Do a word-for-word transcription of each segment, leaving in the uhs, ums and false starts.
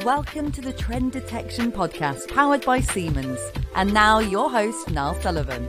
Welcome to the Trend Detection Podcast, powered by Siemens. And now your host, Niall Sullivan.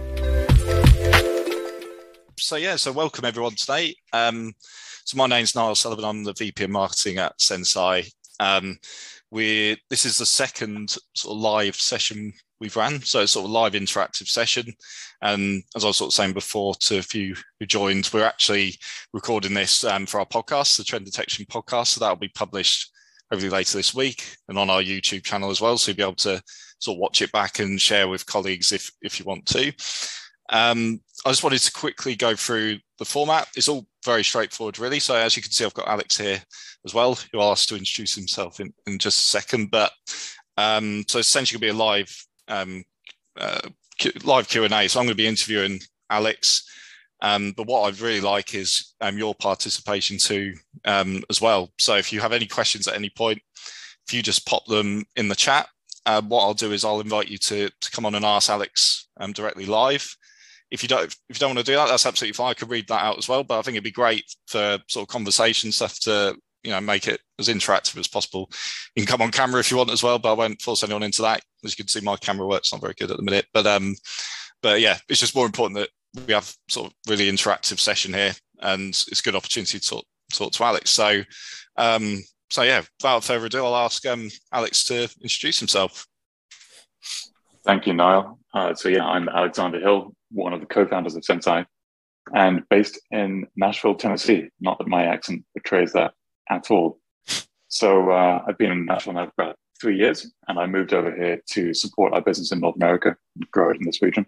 So yeah, so welcome everyone today. Um, so my name's Niall Sullivan. I'm the V P of Marketing at Senseye. Um, we're, this is the second sort of live session we've ran. So it's sort of live interactive session. And as I was sort of saying before to a few who joined, we're actually recording this um, for our podcast, the Trend Detection Podcast. So that'll be published hopefully later this week and on our YouTube channel as well. So you'll be able to sort of watch it back and share with colleagues if, if you want to. Um, I just wanted to quickly go through the format. It's all very straightforward, really. So as you can see, I've got Alex here as well, who I'll ask to introduce himself in, in just a second. But um, so it's essentially going to be a live, um, uh, live Q and A. So I'm going to be interviewing Alex. Um, but what I'd really like is um, your participation too um, as well. So if you have any questions at any point, if you just pop them in the chat, uh, what I'll do is I'll invite you to, to come on and ask Alex um, directly live. If you don't, if you don't want to do that, that's absolutely fine. I could read that out as well. But I think it'd be great for sort of conversation stuff to, you know, make it as interactive as possible. You can come on camera if you want as well, but I won't force anyone into that. As you can see, my camera work's not very good at the minute. But um, but yeah, it's just more important that we have sort of really interactive session here, and it's a good opportunity to talk, talk to Alex. So, um, so yeah, without further ado, I'll ask um, Alex to introduce himself. Thank you, Niall. Uh, so yeah, I'm Alexander Hill, one of the co-founders of Senseye, and based in Nashville, Tennessee. Not that my accent betrays that at all. So uh, I've been in Nashville now for about three years, and I moved over here to support our business in North America and grow it in this region.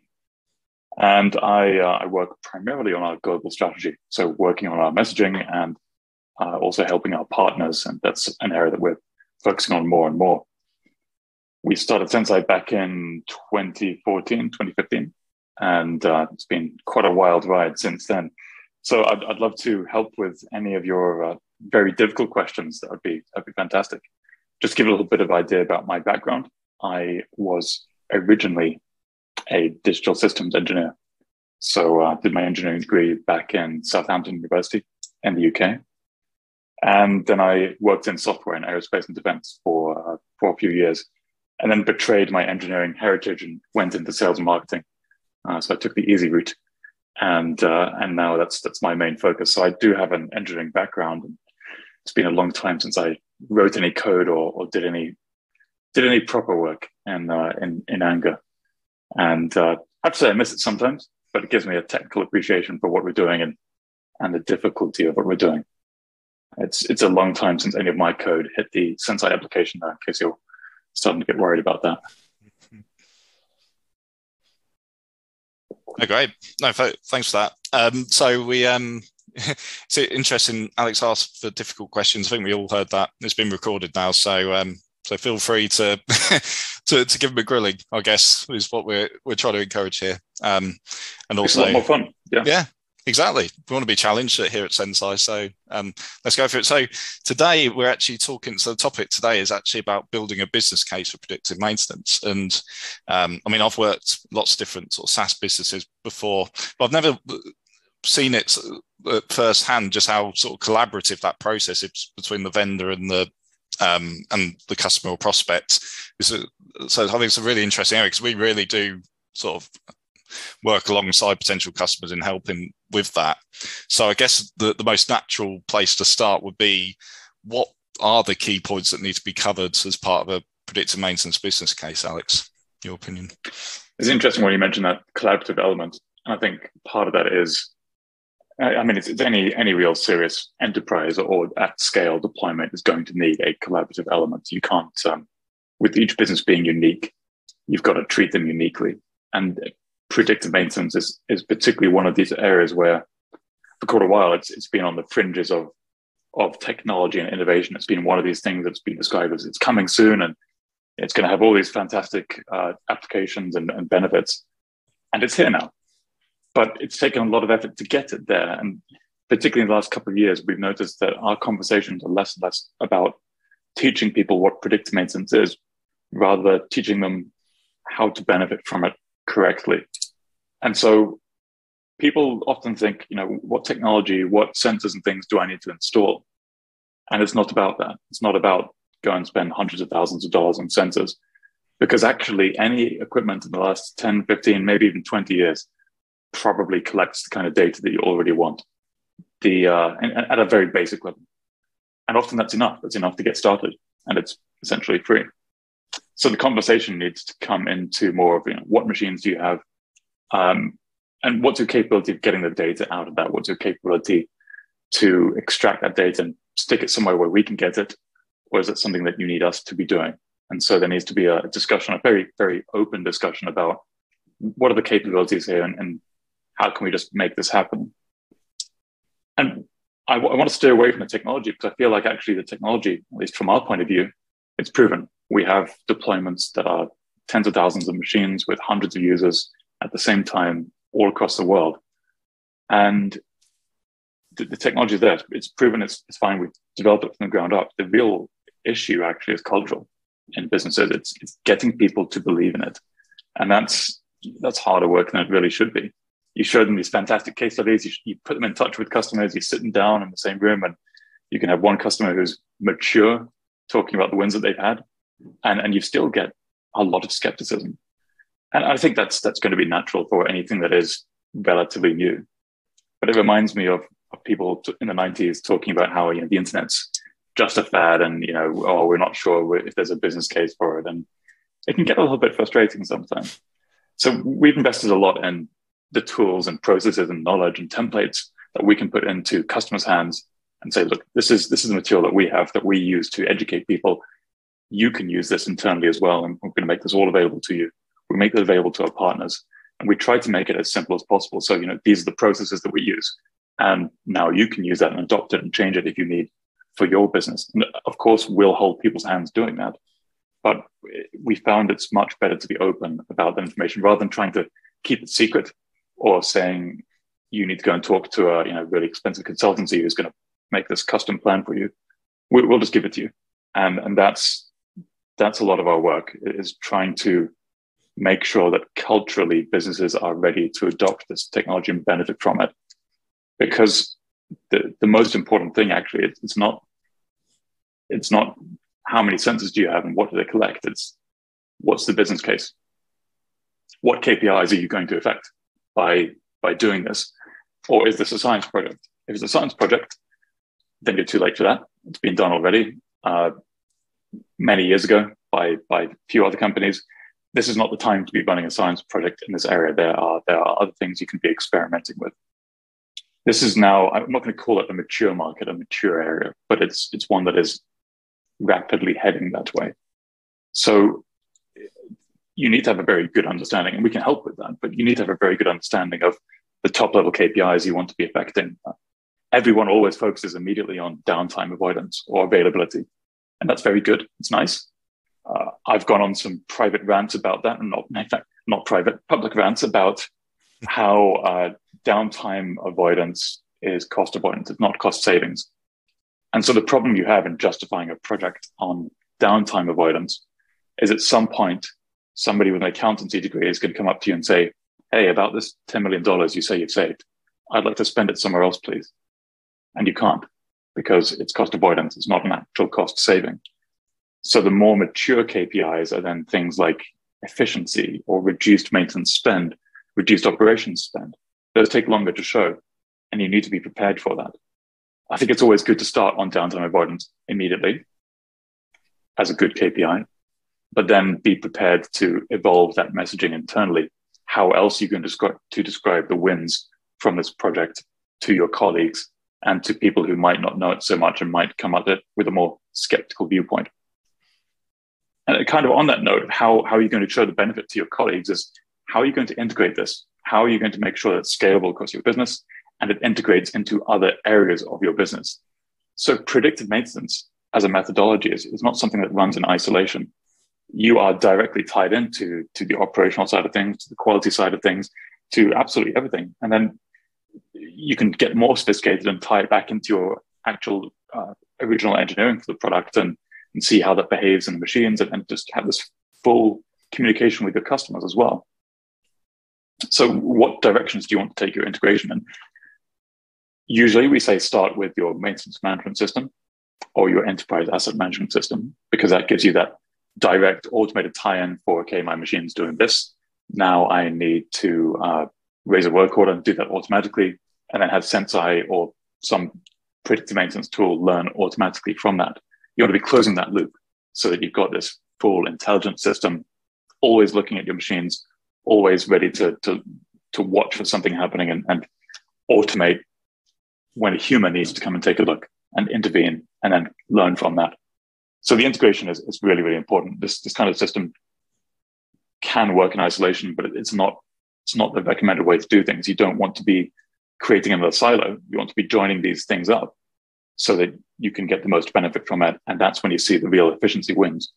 And I, uh, I work primarily on our global strategy, so working on our messaging and uh, also helping our partners, and that's an area that we're focusing on more and more. We started Senseye back in twenty fourteen, twenty fifteen, and uh, it's been quite a wild ride since then. So I'd, I'd love to help with any of your uh, very difficult questions. That would be that'd be fantastic. Just give a little bit of idea about my background. I was originally a digital systems engineer. So I uh, did my engineering degree back in Southampton University in the U K. And then I worked in software and aerospace and defense for, uh, for a few years, and then betrayed my engineering heritage and went into sales and marketing. Uh, so I took the easy route, and uh, and now that's that's my main focus. So I do have an engineering background, and it's been a long time since I wrote any code or, or did any did any proper work in uh, in, in anger. And uh, I have to say I miss it sometimes, but it gives me a technical appreciation for what we're doing and, and the difficulty of what we're doing. It's it's a long time since any of my code hit the Senseye application now, in case you're starting to get worried about that. Oh, great. No, thanks for that. Um, so we, um, it's interesting, Alex asked for difficult questions. I think we all heard that. It's been recorded now, so um, so feel free to, to to give them a grilling, I guess, is what we're we're trying to encourage here. Um, and also, it's a lot more fun. Yeah, yeah, exactly. We want to be challenged here at Senseye, so um, let's go for it. So today we're actually talking. So the topic today is actually about building a business case for predictive maintenance. And um, I mean, I've worked lots of different sort of SaaS businesses before, but I've never seen it firsthand just how sort of collaborative that process is between the vendor and the um, and the customer or prospect. So I think it's a really interesting area because we really do sort of work alongside potential customers in helping with that. So I guess the, the most natural place to start would be, what are the key points that need to be covered as part of a predictive maintenance business case, Alex? Your opinion? It's interesting when you mention that collaborative element. And I think part of that is, I mean, it's, it's any any real serious enterprise or at scale deployment is going to need a collaborative element. You can't, um, with each business being unique, you've got to treat them uniquely. And predictive maintenance is, is particularly one of these areas where for quite a while it's it's been on the fringes of of technology and innovation. It's been one of these things that's been described as it's coming soon and it's going to have all these fantastic uh, applications and, and benefits. And it's here now. But it's taken a lot of effort to get it there. And particularly in the last couple of years, we've noticed that our conversations are less and less about teaching people what predictive maintenance is, rather teaching them how to benefit from it correctly. And so people often think, you know, what technology, what sensors and things do I need to install? And it's not about that. It's not about go and spend hundreds of thousands of dollars on sensors, because actually any equipment in the last ten, fifteen, maybe even twenty years probably collects the kind of data that you already want, the uh, and, and at a very basic level. And often that's enough. It's enough to get started, and it's essentially free. So the conversation needs to come into more of, you know, what machines do you have, um, and what's your capability of getting the data out of that? What's your capability to extract that data and stick it somewhere where we can get it, or is it something that you need us to be doing? And so there needs to be a discussion, a very, very open discussion about what are the capabilities here, and, and how can we just make this happen? And I, w- I want to stay away from the technology, because I feel like actually the technology, at least from our point of view, it's proven. We have deployments that are tens of thousands of machines with hundreds of users at the same time all across the world. And the, the technology is there. It's proven, it's, it's fine. We've developed it from the ground up. The real issue actually is cultural in businesses. It's, it's getting people to believe in it. And that's that's harder work than it really should be. You show them these fantastic case studies. You, you put them in touch with customers. You sit them down in the same room, and you can have one customer who's mature talking about the wins that they've had, and, and you still get a lot of skepticism. And I think that's that's going to be natural for anything that is relatively new. But it reminds me of, of people in the nineties talking about how, you know, the internet's just a fad, and, you know, oh, we're not sure if there's a business case for it. And it can get a little bit frustrating sometimes. So we've invested a lot in the tools and processes and knowledge and templates that we can put into customers' hands and say, look, this is this is the material that we have that we use to educate people. You can use this internally as well, and we're going to make this all available to you. We make it available to our partners, and we try to make it as simple as possible. So, you know, these are the processes that we use, and now you can use that and adopt it and change it if you need for your business. And of course, we'll hold people's hands doing that. But we found it's much better to be open about that information rather than trying to keep it secret, or saying you need to go and talk to a, you know, really expensive consultancy who's going to make this custom plan for you. We, we'll just give it to you. And, and that's, that's a lot of our work, is trying to make sure that culturally businesses are ready to adopt this technology and benefit from it. Because the, the most important thing actually, it's, it's not, it's not how many sensors do you have and what do they collect? It's what's the business case? What K P Is are you going to affect by, by doing this? Or is this a science project? If it's a science project, then you're too late for that. It's been done already uh, many years ago by, by a few other companies. This is not the time to be running a science project in this area. There are, there are other things you can be experimenting with. This is now, I'm not going to call it a mature market, a mature area, but it's it's one that is rapidly heading that way. So you need to have a very good understanding, and we can help with that, but you need to have a very good understanding of the top level K P Is you want to be affecting. Everyone always focuses immediately on downtime avoidance or availability, and that's very good. It's nice. Uh, I've gone on some private rants about that, and not, in fact, not private, public rants about how uh, downtime avoidance is cost avoidance. It's not cost savings. And so the problem you have in justifying a project on downtime avoidance is at some point, somebody with an accountancy degree is going to come up to you and say, hey, about this ten million dollars you say you've saved, I'd like to spend it somewhere else, please. And you can't, because it's cost avoidance. It's not an actual cost saving. So the more mature K P Is are then things like efficiency or reduced maintenance spend, reduced operations spend. Those take longer to show, and you need to be prepared for that. I think it's always good to start on downtime avoidance immediately as a good K P I, but then be prepared to evolve that messaging internally. How else are you going to describe, to describe the wins from this project to your colleagues and to people who might not know it so much and might come at it with a more skeptical viewpoint? And kind of on that note of how, how are you going to show the benefit to your colleagues is, how are you going to integrate this? How are you going to make sure that it's scalable across your business and it integrates into other areas of your business? So predictive maintenance as a methodology is, is not something that runs in isolation. You are directly tied into to the operational side of things, to the quality side of things, to absolutely everything. And then you can get more sophisticated and tie it back into your actual uh, original engineering for the product and, and see how that behaves in the machines, and, and just have this full communication with your customers as well. So what directions do you want to take your integration in? Usually we say start with your maintenance management system. or your enterprise asset management system, because that gives you that direct automated tie-in for, okay, my machine's doing this. Now I need to uh, raise a work order and do that automatically, and then have Senseye or some predictive maintenance tool learn automatically from that. You want to be closing that loop so that you've got this full intelligent system, always looking at your machines, always ready to, to, to watch for something happening and, and automate when a human needs to come and take a look and intervene and then learn from that. So the integration is, is really, really important. This, this kind of system can work in isolation, but it's not, it's not the recommended way to do things. You don't want to be creating another silo. You want to be joining these things up so that you can get the most benefit from it. And that's when you see the real efficiency wins.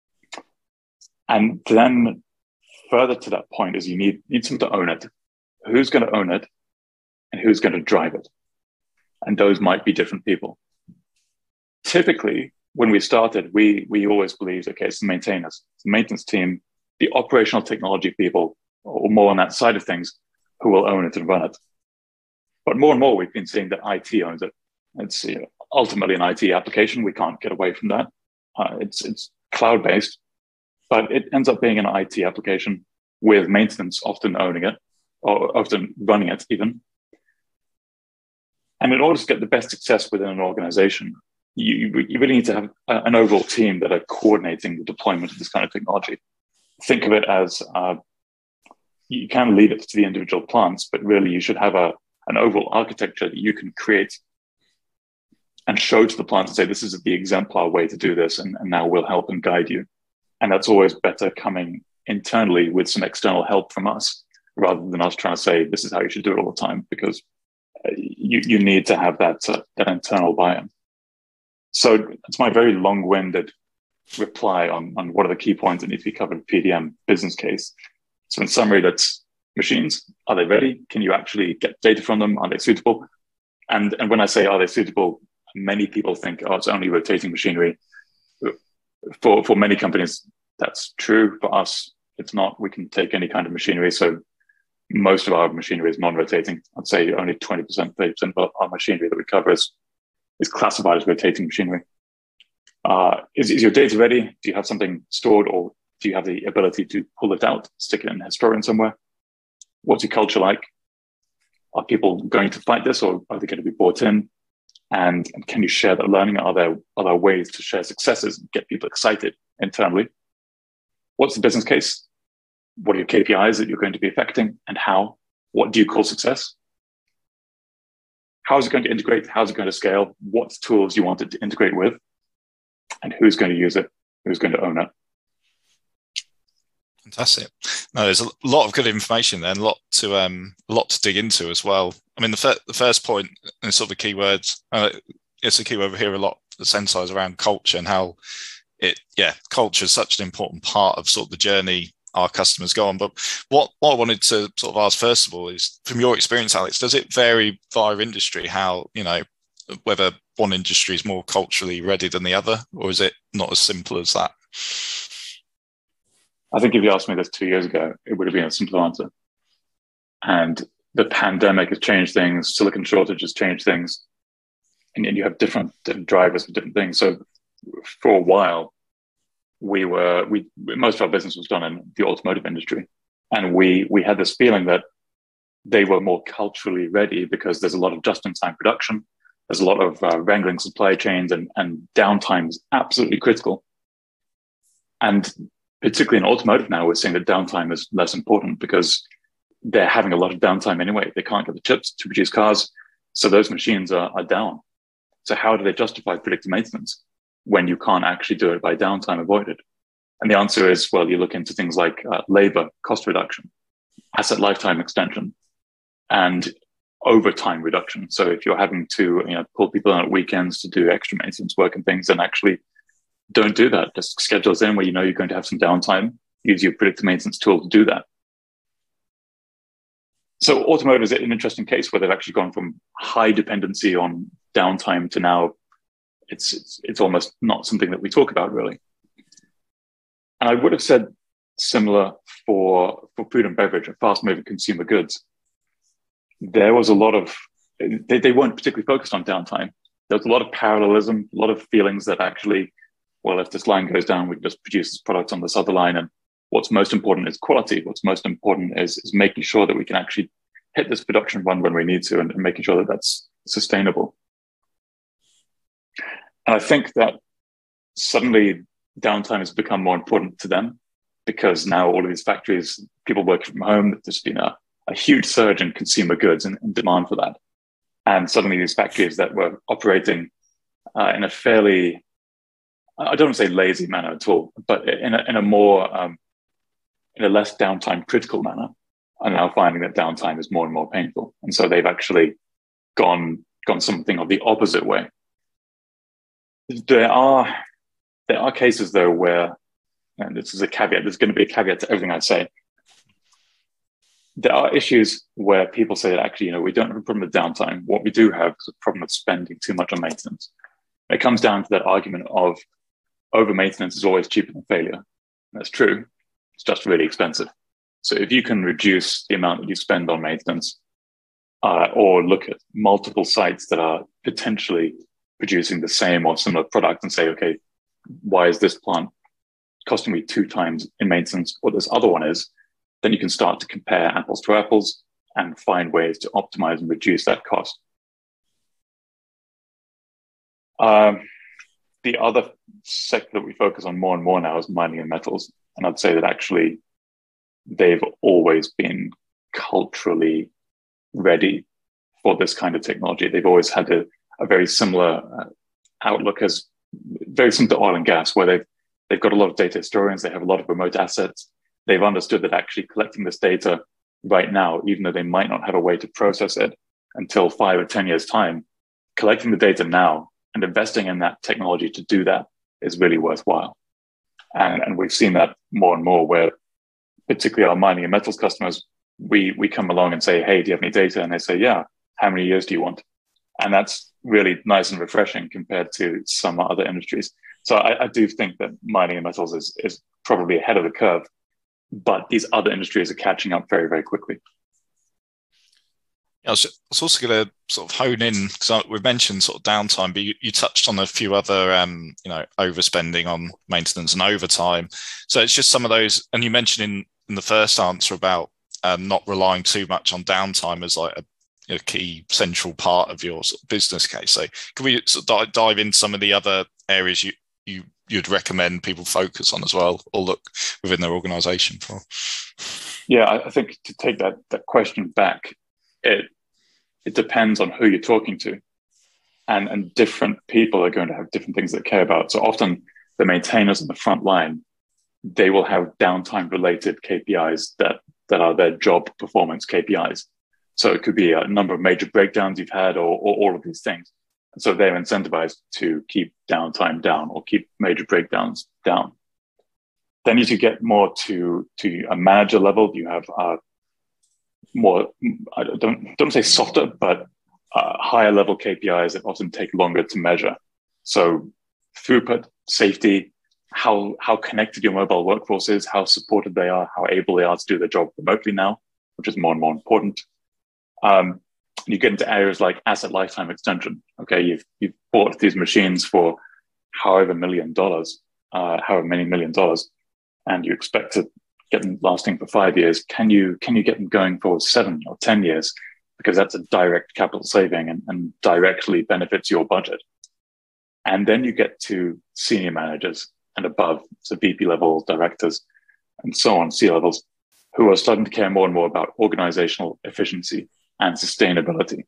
And then further to that point is you need, need someone to own it. Who's going to own it and who's going to drive it? And those might be different people. Typically, when we started, we, we always believed, okay, it's the maintainers, it's the maintenance team, the operational technology people, or more on that side of things, who will own it and run it. But more and more, we've been seeing that I T owns it. It's you know, ultimately an I T application. We can't get away from that. Uh, it's it's cloud-based, but it ends up being an I T application with maintenance often owning it, or often running it even. And in order to get the best success within an organization, you, you really need to have a, an overall team that are coordinating the deployment of this kind of technology. Think of it as uh, you can leave it to the individual plants, but really you should have a an overall architecture that you can create and show to the plant and say, this is the exemplar way to do this, and, and now we'll help and guide you. And that's always better coming internally with some external help from us, rather than us trying to say, this is how you should do it all the time, because you, you need to have that, uh, that internal buy-in. So that's my very long-winded reply on, on what are the key points that need to be covered in P D M business case. So in summary, that's machines. Are they ready? Can you actually get data from them? Are they suitable? And, and when I say, are they suitable, many people think, oh, it's only rotating machinery. For, for many companies, that's true. For us, it's not. We can take any kind of machinery. So most of our machinery is non-rotating. I'd say only twenty percent, thirty percent of our machinery that we cover is, is classified as rotating machinery. Uh, is, is your data ready? Do you have something stored, or do you have the ability to pull it out, stick it in a historian somewhere? What's your culture like? Are people going to fight this, or are they going to be bought in? And, and can you share that learning? Are there, are there ways to share successes and get people excited internally? What's the business case? What are your K P Is that you're going to be affecting, and how? What do you call success? How is it going to integrate? How is it going to scale? What tools you want it to integrate with? And who's going to use it? Who's going to own it? Fantastic. No, there's a lot of good information there, and a lot to um, a lot to dig into as well. I mean, the, fir- the first point, and sort of the keywords, uh, it's a keyword we hear a lot at Senseye is around culture, and how it, yeah, culture is such an important part of sort of the journey our customers go on. But what, what I wanted to sort of ask first of all is, from your experience, Alex, does it vary via industry? How, you know, whether one industry is more culturally ready than the other, or is it not as simple as that? I think if you asked me this two years ago, it would have been a simple answer. And the pandemic has changed things. Silicon shortage has changed things. And, and you have different, different drivers for different things. So for a while, we were, we most of our business was done in the automotive industry. And we we had this feeling that they were more culturally ready because there's a lot of just-in-time production. There's a lot of uh, wrangling supply chains, and, and downtime is absolutely critical. And particularly in automotive now, we're seeing that downtime is less important because they're having a lot of downtime anyway. They can't get the chips to produce cars. So those machines are, are down. So how do they justify predictive maintenance when you can't actually do it by downtime avoided? And the answer is, well, you look into things like uh, labor cost reduction, asset lifetime extension, and overtime reduction. So if you're having to, you know, pull people in at weekends to do extra maintenance work and things, then actually don't do that. Just schedule it in where you know you're going to have some downtime. Use your predictive maintenance tool to do that. So automotive is an interesting case where they've actually gone from high dependency on downtime to now it's it's, it's almost not something that we talk about really. And I would have said similar for, for food and beverage and fast-moving consumer goods. There was a lot of, they, they weren't particularly focused on downtime. there's a lot of parallelism, a lot of feelings that actually, well, if this line goes down, we can just produce this product on this other line. And what's most important is quality. What's most important is, is making sure that we can actually hit this production run when we need to, and, and making sure that that's sustainable. And I think that suddenly downtime has become more important to them, because now all of these factories, people working from home, there's been a, a huge surge in consumer goods and, and demand for that. And suddenly these factories that were operating uh, in a fairly, I don't want to say lazy manner at all, but in a, in a more, um, in a less downtime critical manner, are now finding that downtime is more and more painful. And so they've actually gone, gone something of the opposite way. There are, there are cases though where, and this is a caveat, there's going to be a caveat to everything I say. There are issues where people say that actually, you know, we don't have a problem with downtime. What we do have is a problem with spending too much on maintenance. It comes down to that argument of over maintenance is always cheaper than failure. That's true. It's just really expensive. So if you can reduce the amount that you spend on maintenance, uh, or look at multiple sites that are potentially producing the same or similar product and say, okay, why is this plant costing me two times in maintenance what this other one is? Then you can start to compare apples to apples and find ways to optimize and reduce that cost. Um, the other sector that we focus on more and more now is mining and metals. And I'd say that actually they've always been culturally ready for this kind of technology. They've always had a, a very similar uh, outlook, as very similar to oil and gas, where they've, they've got a lot of data historians, they have a lot of remote assets. They've understood that actually collecting this data right now, even though they might not have a way to process it until five or ten years time, collecting the data now and investing in that technology to do that is really worthwhile. And, and we've seen that more and more, where particularly our mining and metals customers, we, we come along and say, hey, do you have any data? And they say, yeah, how many years do you want? And that's really nice and refreshing compared to some other industries. So I, I do think that mining and metals is, is probably ahead of the curve, but these other industries are catching up very, very quickly. I was, I was also going to sort of hone in, because we've mentioned sort of downtime, but you, you touched on a few other, um, you know, overspending on maintenance and overtime. So it's just some of those, and you mentioned in, in the first answer about um, not relying too much on downtime as like a, a key central part of your sort of business case. So can we sort of dive into some of the other areas you, you you'd recommend people focus on as well, or look within their organization for? Yeah, I think to take that that question back, it it depends on who you're talking to, and and different people are going to have different things they care about. So often the maintainers on the front line, they will have downtime related K P Is that that are their job performance K P Is. So it could be a number of major breakdowns you've had, or, or all of these things. And so they're incentivized to keep downtime down or keep major breakdowns down. Then as you get more to, to a manager level, you have uh, more, I don't, don't say softer, but uh, higher level K P Is that often take longer to measure. So throughput, safety, how, how connected your mobile workforce is, how supported they are, how able they are to do their job remotely now, which is more and more important. Um, you get into areas like asset lifetime extension. Okay, you've you've bought these machines for however million dollars, uh, however many million dollars, and you expect to get them lasting for five years. Can you can you get them going for seven or ten years? Because that's a direct capital saving and, and directly benefits your budget. And then you get to senior managers and above, so V P level directors and so on, C levels, who are starting to care more and more about organizational efficiency and sustainability.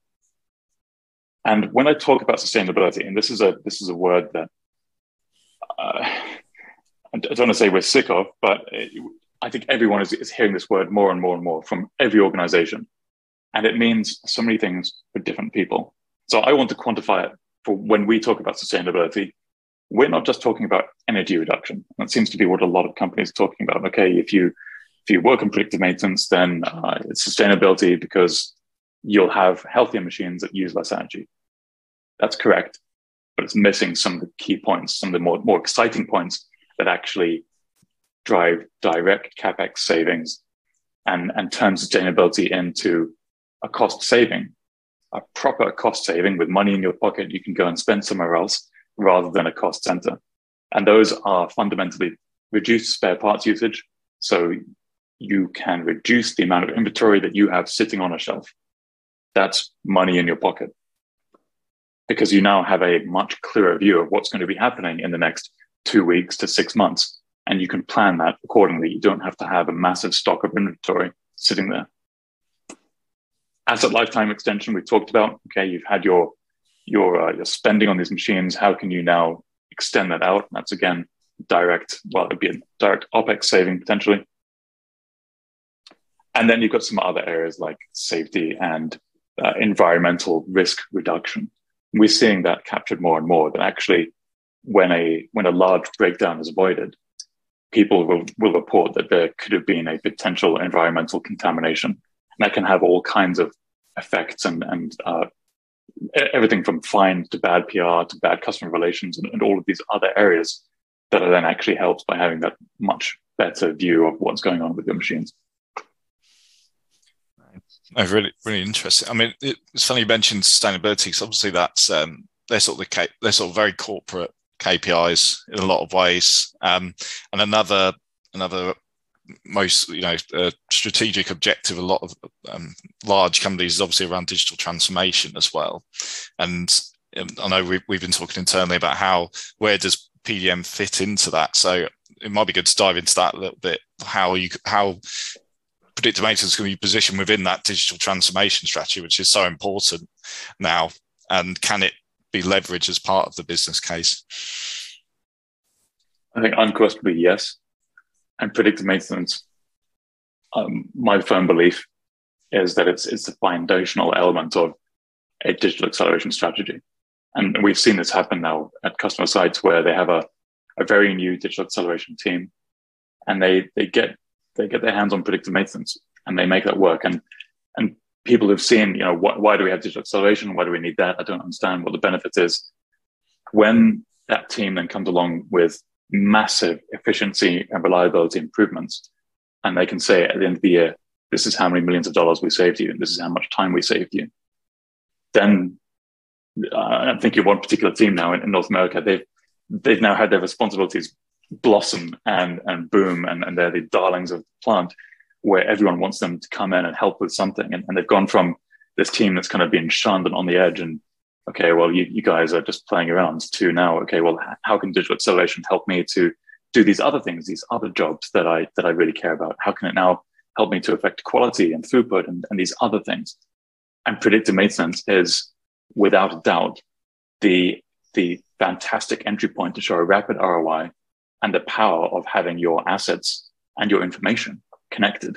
And when I talk about sustainability, and this is a this is a word that uh, I don't want to say we're sick of, but it, I think everyone is, is hearing this word more and more and more from every organization. And it means so many things for different people. So I want to quantify it for when we talk about sustainability. We're not just talking about energy reduction. That seems to be what a lot of companies are talking about. Okay, if you if you work on predictive maintenance, then uh, it's sustainability because you'll have healthier machines that use less energy. That's correct, but it's missing some of the key points, some of the more, more exciting points that actually drive direct CapEx savings and, and turn sustainability into a cost saving. a proper cost saving with money in your pocket you can go and spend somewhere else rather than a cost center. And those are fundamentally reduced spare parts usage. So you can reduce the amount of inventory that you have sitting on a shelf. That's money in your pocket, because you now have a much clearer view of what's going to be happening in the next two weeks to six months. And you can plan that accordingly. You don't have to have a massive stock of inventory sitting there. Asset lifetime extension, we talked about. Okay, you've had your your uh, your spending on these machines. How can you now extend that out? That's again direct. Well, it'd be a direct OpEx saving potentially. And then you've got some other areas like safety and uh, environmental risk reduction. We're seeing that captured more and more. That actually, when a when a large breakdown is avoided, people will, will report that there could have been a potential environmental contamination. And that can have all kinds of effects and, and uh, everything from fines to bad P R to bad customer relations and, and all of these other areas that are then actually helped by having that much better view of what's going on with your machines. Oh, really, really interesting. I mean, it's funny you mentioned sustainability, because obviously that's um, they're sort of the they're sort of very corporate K P Is in a lot of ways. Um, and another another most you know uh, strategic objective a lot of um, large companies is obviously around digital transformation as well. And um, I know we've we've been talking internally about how where does P D M fit into that. So it might be good to dive into that a little bit. How you how predictive maintenance is going to be positioned within that digital transformation strategy, which is so important now, and can it be leveraged as part of the business case? I think unquestionably yes. And predictive maintenance, um, my firm belief is that it's it's the foundational element of a digital acceleration strategy. And we've seen this happen now at customer sites where they have a, a very new digital acceleration team, and they they get they get their hands on predictive maintenance and they make that work. And and people have seen, you know, wh- why do we have digital acceleration? Why do we need that? I don't understand what the benefit is. When that team then comes along with massive efficiency and reliability improvements, and they can say at the end of the year, this is how many millions of dollars we saved you, and this is how much time we saved you, then uh, I'm thinking of one particular team now in, in North America. They've they've now had their responsibilities blossom and and boom, and, and they're the darlings of the plant, where everyone wants them to come in and help with something. And, and they've gone from this team that's kind of been shunned and on the edge and, okay, well, you, you guys are just playing around, to now, okay, well, how can digital acceleration help me to do these other things, these other jobs that I that I really care about? How can it now help me to affect quality and throughput and, and these other things? And predictive maintenance is, without a doubt, the, the fantastic entry point to show a rapid R O I and the power of having your assets and your information connected.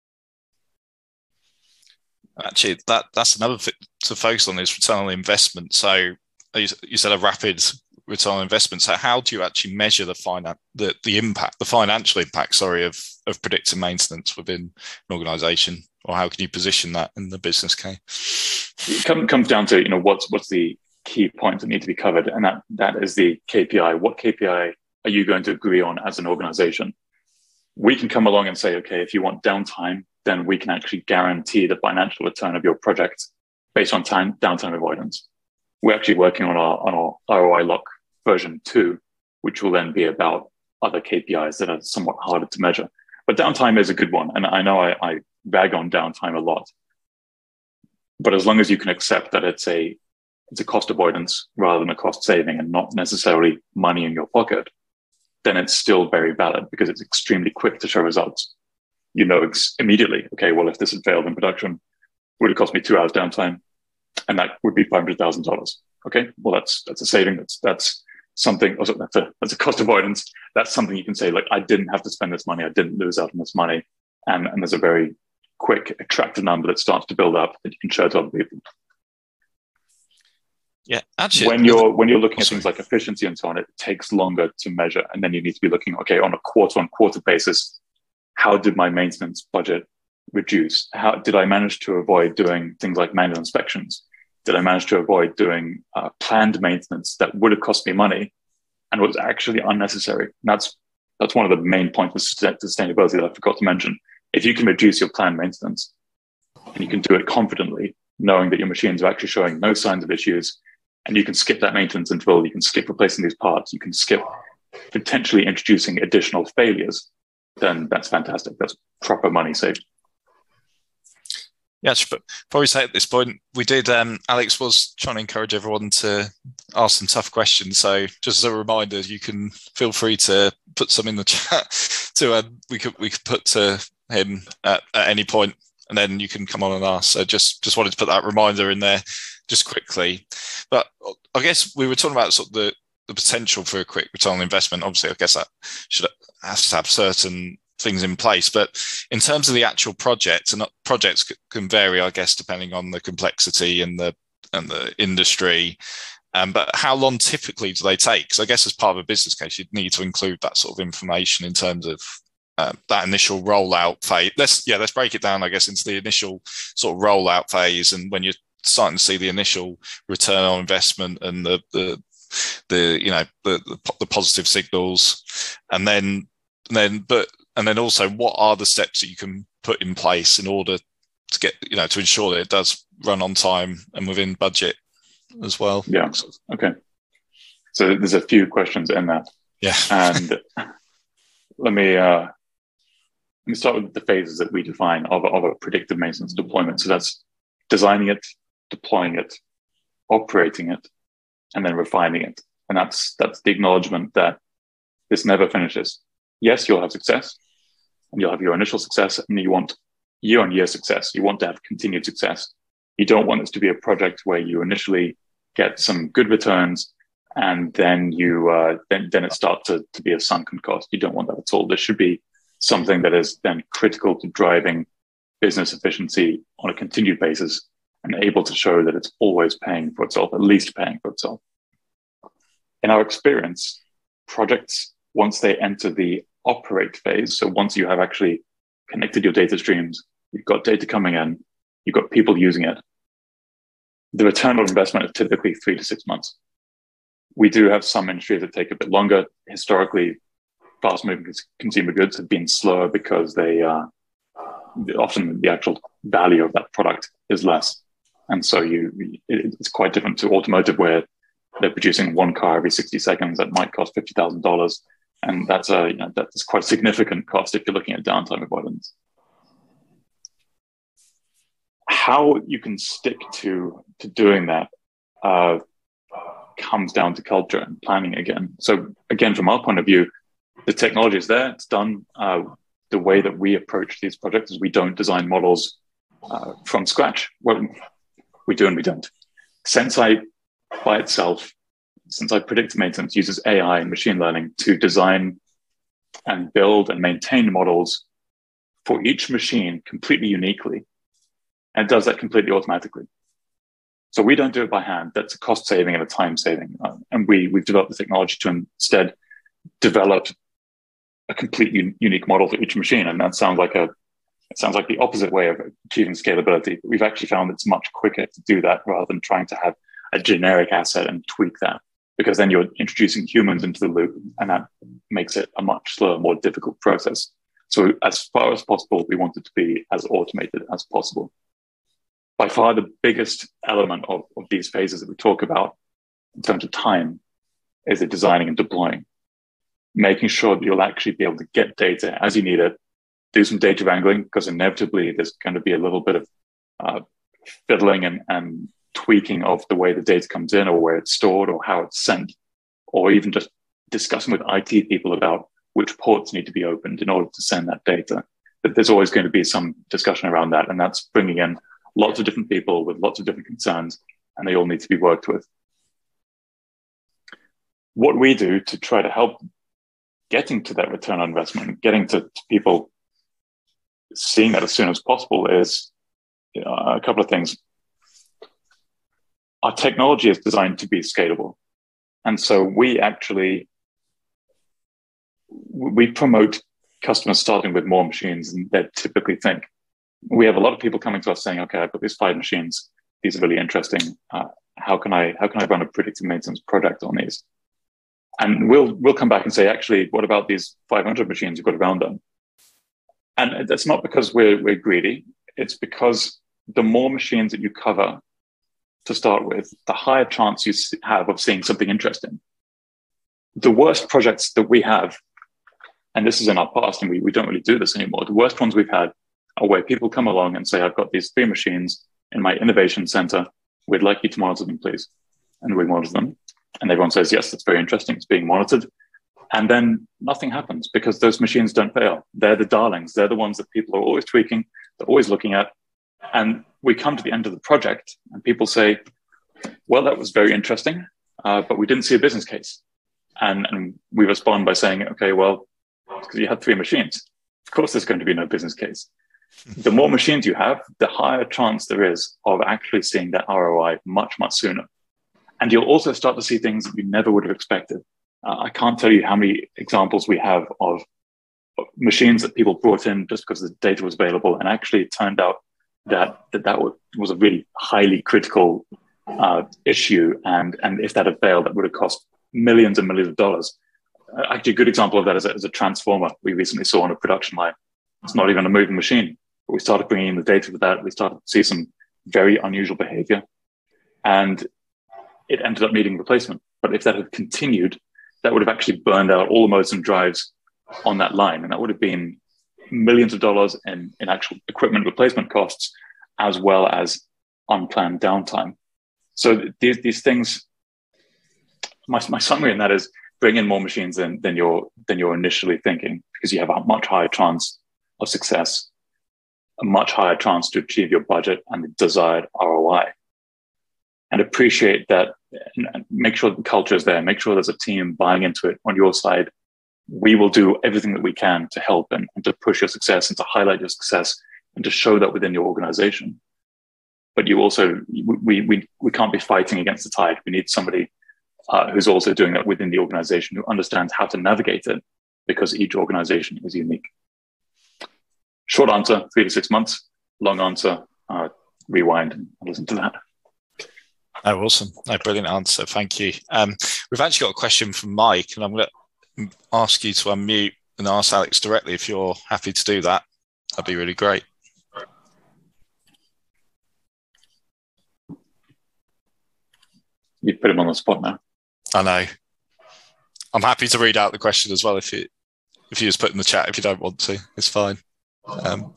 Actually, that that's another thing to focus on, is return on investment. So you, you said a rapid return on investment. So how do you actually measure the finan- the the impact, the financial impact, sorry, of of predictive maintenance within an organization, or how can you position that in the business case? It come, comes down to, you know, what's what's the key points that need to be covered, and that that is the K P I. What K P I are you going to agree on as an organization? We can come along and say, okay, if you want downtime, then we can actually guarantee the financial return of your project based on time downtime avoidance. We're actually working on our on our R O I lock version two, which will then be about other K P Is that are somewhat harder to measure. But downtime is a good one. And I know I, I bag on downtime a lot. But as long as you can accept that it's a it's a cost avoidance rather than a cost saving and not necessarily money in your pocket, then it's still very valid because it's extremely quick to show results. You know ex- immediately, okay, well, if this had failed in production, it would have cost me two hours downtime, and that would be five hundred thousand dollars. Okay, well, that's that's a saving. That's that's something. Also, that's a that's a cost avoidance. That's something you can say, like, I didn't have to spend this money. I didn't lose out on this money, and and there's a very quick, attractive number that starts to build up that you can show to other people. Yeah, actually, when you're when you're looking at things like efficiency and so on, it takes longer to measure, and then you need to be looking, okay, on a quarter-on-quarter basis, how did my maintenance budget reduce? How did I manage to avoid doing things like manual inspections? Did I manage to avoid doing uh, planned maintenance that would have cost me money and was actually unnecessary? And that's that's one of the main points of sustainability that I forgot to mention. If you can reduce your planned maintenance and you can do it confidently, knowing that your machines are actually showing no signs of issues, and you can skip that maintenance interval, you can skip replacing these parts, you can skip potentially introducing additional failures, then that's fantastic. That's proper money saved. Yeah, but probably say at this point, we did, um, Alex was trying to encourage everyone to ask some tough questions. So just as a reminder, you can feel free to put some in the chat to, uh, we could we could put to him at, at any point, and then you can come on and ask. So just, just wanted to put that reminder in there just quickly. But I guess we were talking about sort of the, the potential for a quick return on investment. Obviously, I guess that should has to have certain things in place, but in terms of the actual project, and projects can vary, I guess, depending on the complexity and the and the industry. Um, but how long typically do they take? Because I guess as part of a business case, you'd need to include that sort of information in terms of uh, that initial rollout phase. Let's yeah, let's break it down, I guess, into the initial sort of rollout phase, and when you're starting to see the initial return on investment and the the the you know the the, the positive signals, and then then but. And then also, what are the steps that you can put in place in order to get, you know, to ensure that it does run on time and within budget as well? Yeah. Okay. So there's a few questions in that. Yeah. And let me uh, let me start with the phases that we define of, of a predictive maintenance deployment. So that's designing it, deploying it, operating it, and then refining it. And that's that's the acknowledgement that this never finishes. Yes, you'll have success, and you'll have your initial success, and you want year-on-year success. You want to have continued success. You don't want this to be a project where you initially get some good returns, and then you uh, then then it starts to, to be a sunken cost. You don't want that at all. There should be something that is then critical to driving business efficiency on a continued basis, and able to show that it's always paying for itself, at least paying for itself. In our experience, projects, once they enter the operate phase, so once you have actually connected your data streams, you've got data coming in, you've got people using it, the return on investment is typically three to six months. We do have some industries that take a bit longer. Historically, fast-moving consumer goods have been slower because they uh, often the actual value of that product is less. And so you, it's quite different to automotive, where they're producing one car every sixty seconds that might cost fifty thousand dollars. And that's a, you know, that's quite a significant cost if you're looking at downtime avoidance. How you can stick to, to doing that uh, comes down to culture and planning again. So again, from our point of view, the technology is there, it's done. Uh, the way that we approach these projects is we don't design models uh, from scratch. Well, we do and we don't. Senseye by itself, Senseye Predictive Maintenance, uses A I and machine learning to design and build and maintain models for each machine completely uniquely, and it does that completely automatically. So we don't do it by hand. That's a cost saving and a time saving. Uh, and we, we've developed the technology to instead develop a completely unique model for each machine. And that sounds like a it sounds like the opposite way of achieving scalability. But we've actually found it's much quicker to do that rather than trying to have a generic asset and tweak that, because then you're introducing humans into the loop, and that makes it a much slower, more difficult process. So as far as possible, we want it to be as automated as possible. By far, the biggest element of, of these phases that we talk about in terms of time is the designing and deploying, making sure that you'll actually be able to get data as you need it, do some data wrangling, because inevitably there's going to be a little bit of uh, fiddling and, and tweaking of the way the data comes in, or where it's stored, or how it's sent, or even just discussing with I T people about which ports need to be opened in order to send that data. But there's always going to be some discussion around that, and that's bringing in lots of different people with lots of different concerns, and they all need to be worked with. What we do to try to help getting to that return on investment, getting to, to people seeing that as soon as possible, is you know, a couple of things. Our technology is designed to be scalable. And so we actually, we promote customers starting with more machines than they typically think. We have a lot of people coming to us saying, okay, I've got these five machines. These are really interesting. Uh, how can I, how can I run a predictive maintenance project on these? And we'll, we'll come back and say, actually, what about these five hundred machines you've got around them? And that's not because we're, we're greedy. It's because the more machines that you cover to start with, the higher chance you have of seeing something interesting. The worst projects that we have, and this is in our past, and we, we don't really do this anymore, the worst ones we've had are where people come along and say, I've got these three machines in my innovation center. We'd like you to monitor them, please. And we monitor them. And everyone says, yes, that's very interesting. It's being monitored. And then nothing happens because those machines don't fail. They're the darlings. They're the ones that people are always tweaking. They're always looking at. And we come to the end of the project and people say, well, that was very interesting, uh, but we didn't see a business case. And, and we respond by saying, okay, well, because you had three machines. Of course, there's going to be no business case. The more machines you have, the higher chance there is of actually seeing that R O I much, much sooner. And you'll also start to see things that you never would have expected. Uh, I can't tell you how many examples we have of machines that people brought in just because the data was available. And actually it turned out that that, that was a really highly critical uh, issue. And, and if that had failed, that would have cost millions and millions of dollars. Uh, actually, a good example of that is a, is a transformer we recently saw on a production line. It's not even a moving machine. But we started bringing in the data for that. We started to see some very unusual behavior. And it ended up needing replacement. But if that had continued, that would have actually burned out all the motors and drives on that line. And that would have been millions of dollars in, in actual equipment replacement costs, as well as unplanned downtime. So these, these things, my, my summary in that is bring in more machines than, than, you're, than you're initially thinking, because you have a much higher chance of success, a much higher chance to achieve your budget and the desired R O I. And appreciate that, and make sure the culture is there, make sure there's a team buying into it on your side. We will do everything that we can to help and, and to push your success and to highlight your success and to show that within your organization. But you also, we, we, we can't be fighting against the tide. We need somebody uh, who's also doing that within the organization, who understands how to navigate it, because each organization is unique. Short answer, three to six months. Long answer, uh, rewind and listen to that. Oh, awesome. No, brilliant answer. Thank you. Um, we've actually got a question from Mike, and I'm going to ask you to unmute and ask Alex directly if you're happy to do that. That'd be really great. You put him on the spot now. I know. I'm happy to read out the question as well if you if you just put in the chat if you don't want to. It's fine. Um,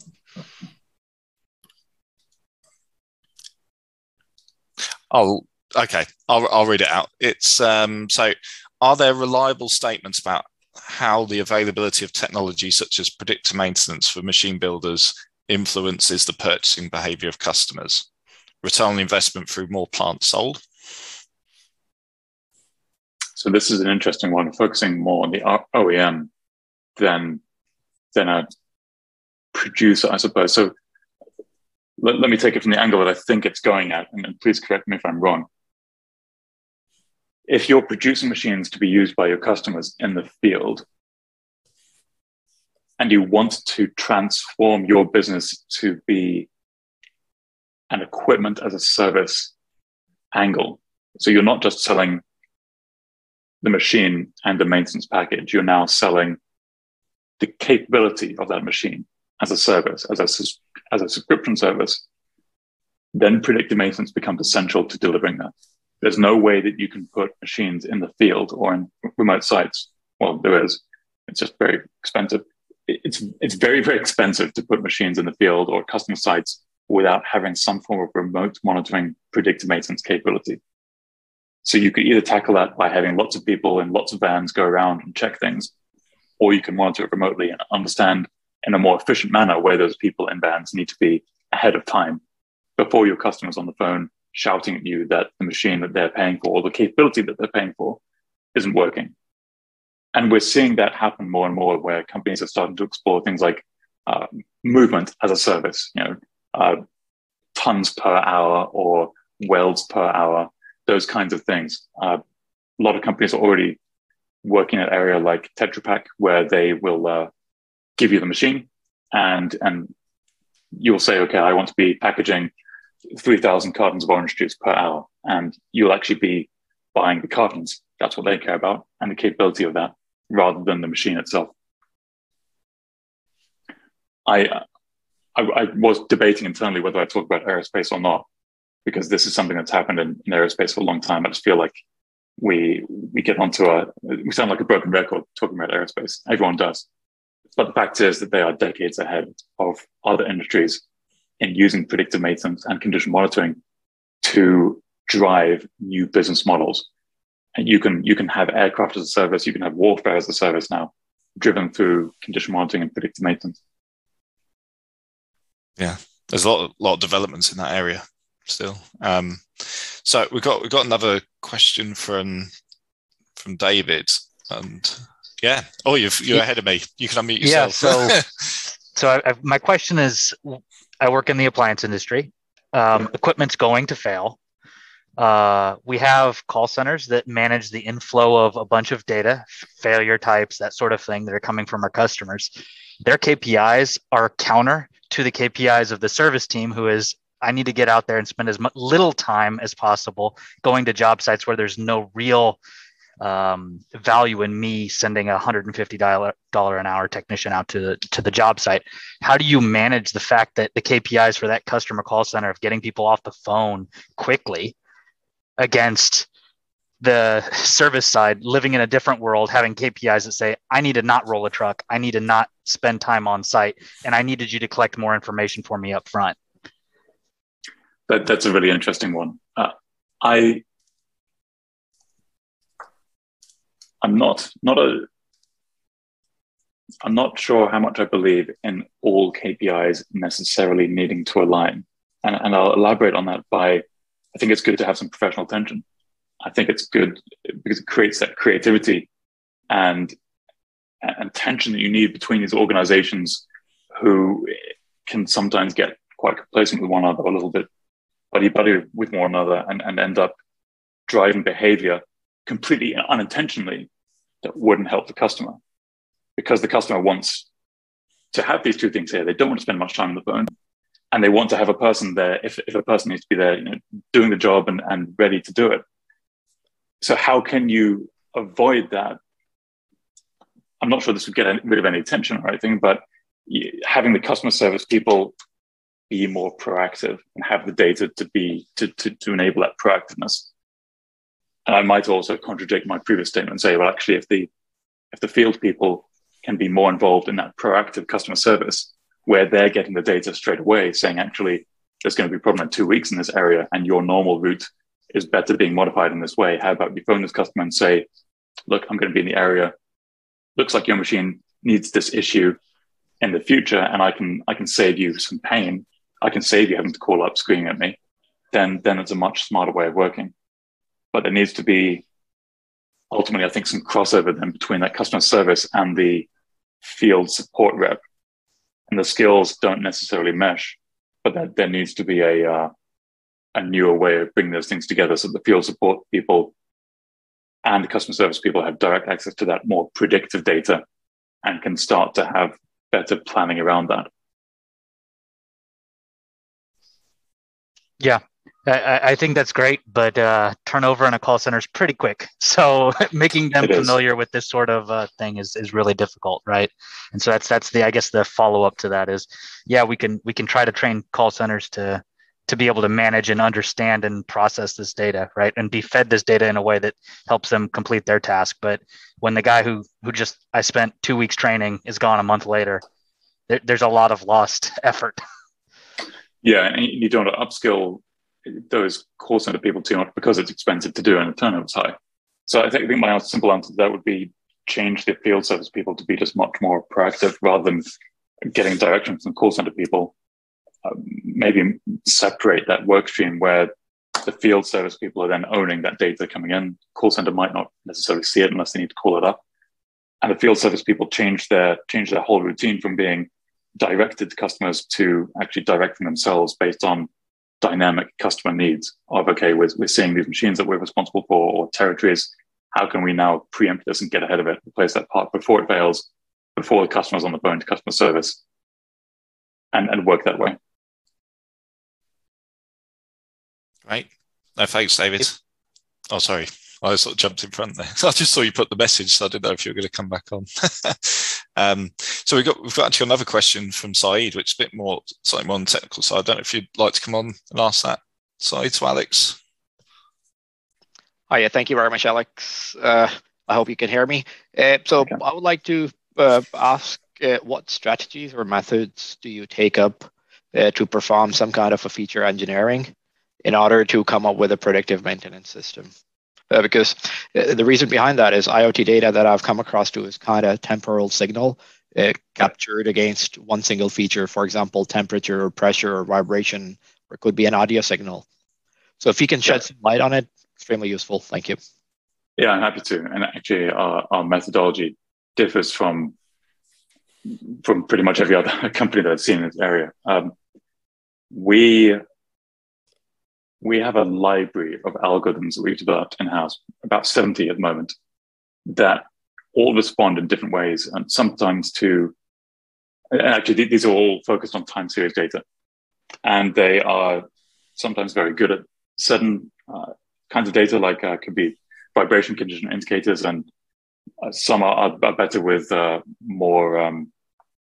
I'll okay. I'll I'll read it out. It's um, so. Are there reliable statements about how the availability of technology such as predictive maintenance for machine builders influences the purchasing behavior of customers? Return on investment through more plants sold? So this is an interesting one, focusing more on the O E M than than a producer, I suppose. So let, let me take it from the angle that I think it's going at, and, and please correct me if I'm wrong. If you're producing machines to be used by your customers in the field, and you want to transform your business to be an equipment as a service angle, so you're not just selling the machine and the maintenance package, you're now selling the capability of that machine as a service, as a, as a subscription service, then predictive maintenance becomes essential to delivering that. There's no way that you can put machines in the field or in remote sites. Well, there is. It's just very expensive. It's it's very, very expensive to put machines in the field or customer sites without having some form of remote monitoring predictive maintenance capability. So you could either tackle that by having lots of people and lots of vans go around and check things, or you can monitor it remotely and understand in a more efficient manner where those people and vans need to be ahead of time before your customer's on the phone shouting at you that the machine that they're paying for or the capability that they're paying for isn't working. And we're seeing that happen more and more where companies are starting to explore things like uh, movement as a service, you know, uh, tons per hour or welds per hour, those kinds of things. Uh, a lot of companies are already working in an area like Tetra Pak, where they will uh, give you the machine and, and you'll say, okay, I want to be packaging three thousand cartons of orange juice per hour. And you'll actually be buying the cartons. That's what they care about, and the capability of that, rather than the machine itself. I, I, I was debating internally whether I talk about aerospace or not, because this is something that's happened in, in aerospace for a long time. I just feel like we we get onto a we sound like a broken record talking about aerospace. Everyone does, but the fact is that they are decades ahead of other industries in using predictive maintenance and condition monitoring to drive new business models. And you can you can have aircraft as a service, you can have warfare as a service now, driven through condition monitoring and predictive maintenance. Yeah, there's a lot of, lot of developments in that area still. Um, so we've got we've got another question from from David, and yeah, oh, you've, you're ahead of me. You can unmute yourself. Yeah, so so I, I, my question is, I work in the appliance industry. Um, equipment's going to fail. Uh, we have call centers that manage the inflow of a bunch of data, failure types, that sort of thing that are coming from our customers. Their K P Is are counter to the K P Is of the service team, who is, I need to get out there and spend as much, little time as possible going to job sites where there's no real um, value in me sending a one hundred fifty dollars an hour technician out to the, to the job site. How do you manage the fact that the K P Is for that customer call center of getting people off the phone quickly against the service side living in a different world, having K P Is that say, I need to not roll a truck, I need to not spend time on site, and I needed you to collect more information for me up front? That, that's a really interesting one. Uh, I, I'm not not a. I'm not sure how much I believe in all K P Is necessarily needing to align, and and I'll elaborate on that by. I think it's good to have some professional tension. I think it's good because it creates that creativity and and tension that you need between these organizations who can sometimes get quite complacent with one another, a little bit buddy-buddy with one another, and, and end up driving behavior completely unintentionally that wouldn't help the customer. Because the customer wants to have these two things here. They don't want to spend much time on the phone, and they want to have a person there, if, if a person needs to be there, you know, doing the job and, and ready to do it. So how can you avoid that? I'm not sure this would get any, rid of any tension or anything, but having the customer service people be more proactive and have the data to be to, to, to enable that proactiveness. And I might also contradict my previous statement and say, well, actually, if the if the field people can be more involved in that proactive customer service, where they're getting the data straight away, saying, actually, there's going to be a problem in two weeks in this area, and your normal route is better being modified in this way. How about you phone this customer and say, look, I'm going to be in the area. Looks like your machine needs this issue in the future, and I can I can save you some pain. I can save you having to call up screaming at me. Then, then it's a much smarter way of working. But there needs to be, ultimately, I think, some crossover then between that customer service and the field support rep. And the skills don't necessarily mesh, but that there needs to be a uh, a newer way of bringing those things together, so the field support people and the customer service people have direct access to that more predictive data and can start to have better planning around that. Yeah, I, I think that's great, but uh, turnover in a call center is pretty quick. So making them It familiar is. with this sort of uh, thing is, is really difficult, right? And so that's that's the I guess the follow up to that is, yeah, we can we can try to train call centers to to be able to manage and understand and process this data, right, and be fed this data in a way that helps them complete their task. But when the guy who who just I spent two weeks training is gone a month later, there, there's a lot of lost effort. Yeah, and you don't want to upskill those call center people too much because it's expensive to do and the turnover's high. So I think, I think my simple answer to that would be change the field service people to be just much more proactive rather than getting direction from call center people. Um, maybe separate that work stream where the field service people are then owning that data coming in. Call center might not necessarily see it unless they need to call it up. And the field service people change their change their whole routine from being directed to customers to actually directing themselves based on dynamic customer needs of, okay, we're, we're seeing these machines that we're responsible for or territories. How can we now preempt this and get ahead of it, replace that part before it fails, before the customer's on the phone to customer service, and, and work that way. Right. No, thanks, David. Oh, sorry. I sort of jumped in front there. I just saw you put the message, so I didn't know if you were going to come back on. um, so we've got we've got actually another question from Saeed, which is a bit more slightly more on the technical side. I don't know if you'd like to come on and ask that, Saeed, to Alex. Hi, yeah, thank you very much, Alex. Uh, I hope you can hear me. Uh, so okay. I would like to uh, ask uh, what strategies or methods do you take up uh, to perform some kind of a feature engineering in order to come up with a predictive maintenance system? Uh, because uh, the reason behind that is IoT data that I've come across to is kind of temporal signal uh, captured against one single feature, for example, temperature or pressure or vibration, or it could be an audio signal. So if you can shed yeah. some light on it, extremely useful. Thank you. Yeah, I'm happy to. And actually, our, our methodology differs from from pretty much every other company that I've seen in this area. Um, we we have a library of algorithms that we've developed in-house, about seventy at the moment, that all respond in different ways, and sometimes to. And actually, these are all focused on time series data, and they are sometimes very good at certain uh, kinds of data, like uh, could be vibration condition indicators, and uh, some are, are better with uh, more um,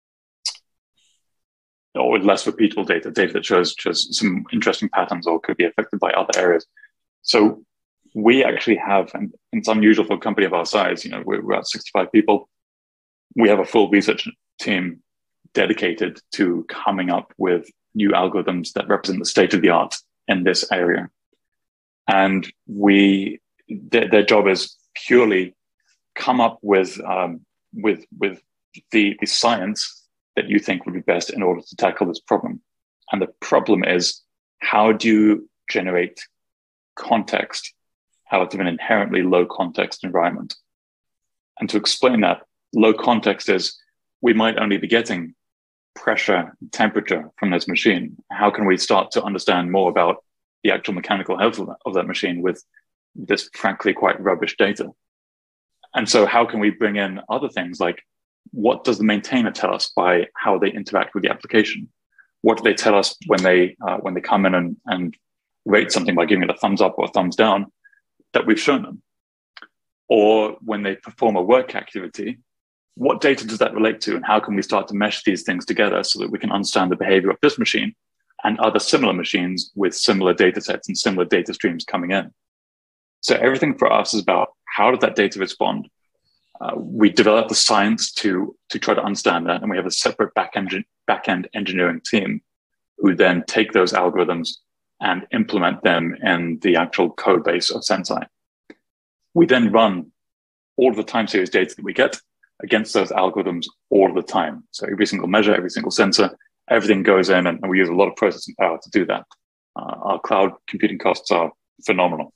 or with less repeatable data, data that shows shows some interesting patterns or could be affected by other areas. So we actually have, and it's unusual for a company of our size, you know, we're, we're at sixty-five people. We have a full research team dedicated to coming up with new algorithms that represent the state of the art in this area. And we, their, their job is purely come up with um, with with the, the science that you think would be best in order to tackle this problem. And the problem is, how do you generate context out of an inherently low context environment? And to explain that, low context is we might only be getting pressure, temperature from this machine. How can we start to understand more about the actual mechanical health of that, of that machine with this frankly quite rubbish data? And so how can we bring in other things like, what does the maintainer tell us by how they interact with the application? What do they tell us when they uh, when they come in and, and rate something by giving it a thumbs up or a thumbs down that we've shown them? Or when they perform a work activity, what data does that relate to? And how can we start to mesh these things together so that we can understand the behavior of this machine and other similar machines with similar data sets and similar data streams coming in? So everything for us is about how does that data respond? Uh, we develop the science to, to try to understand that. And we have a separate back-end, back-end engineering team who then take those algorithms and implement them in the actual code base of Senseye. We then run all of the time series data that we get against those algorithms all the time. So every single measure, every single sensor, everything goes in, and, and we use a lot of processing power to do that. Uh, our cloud computing costs are phenomenal.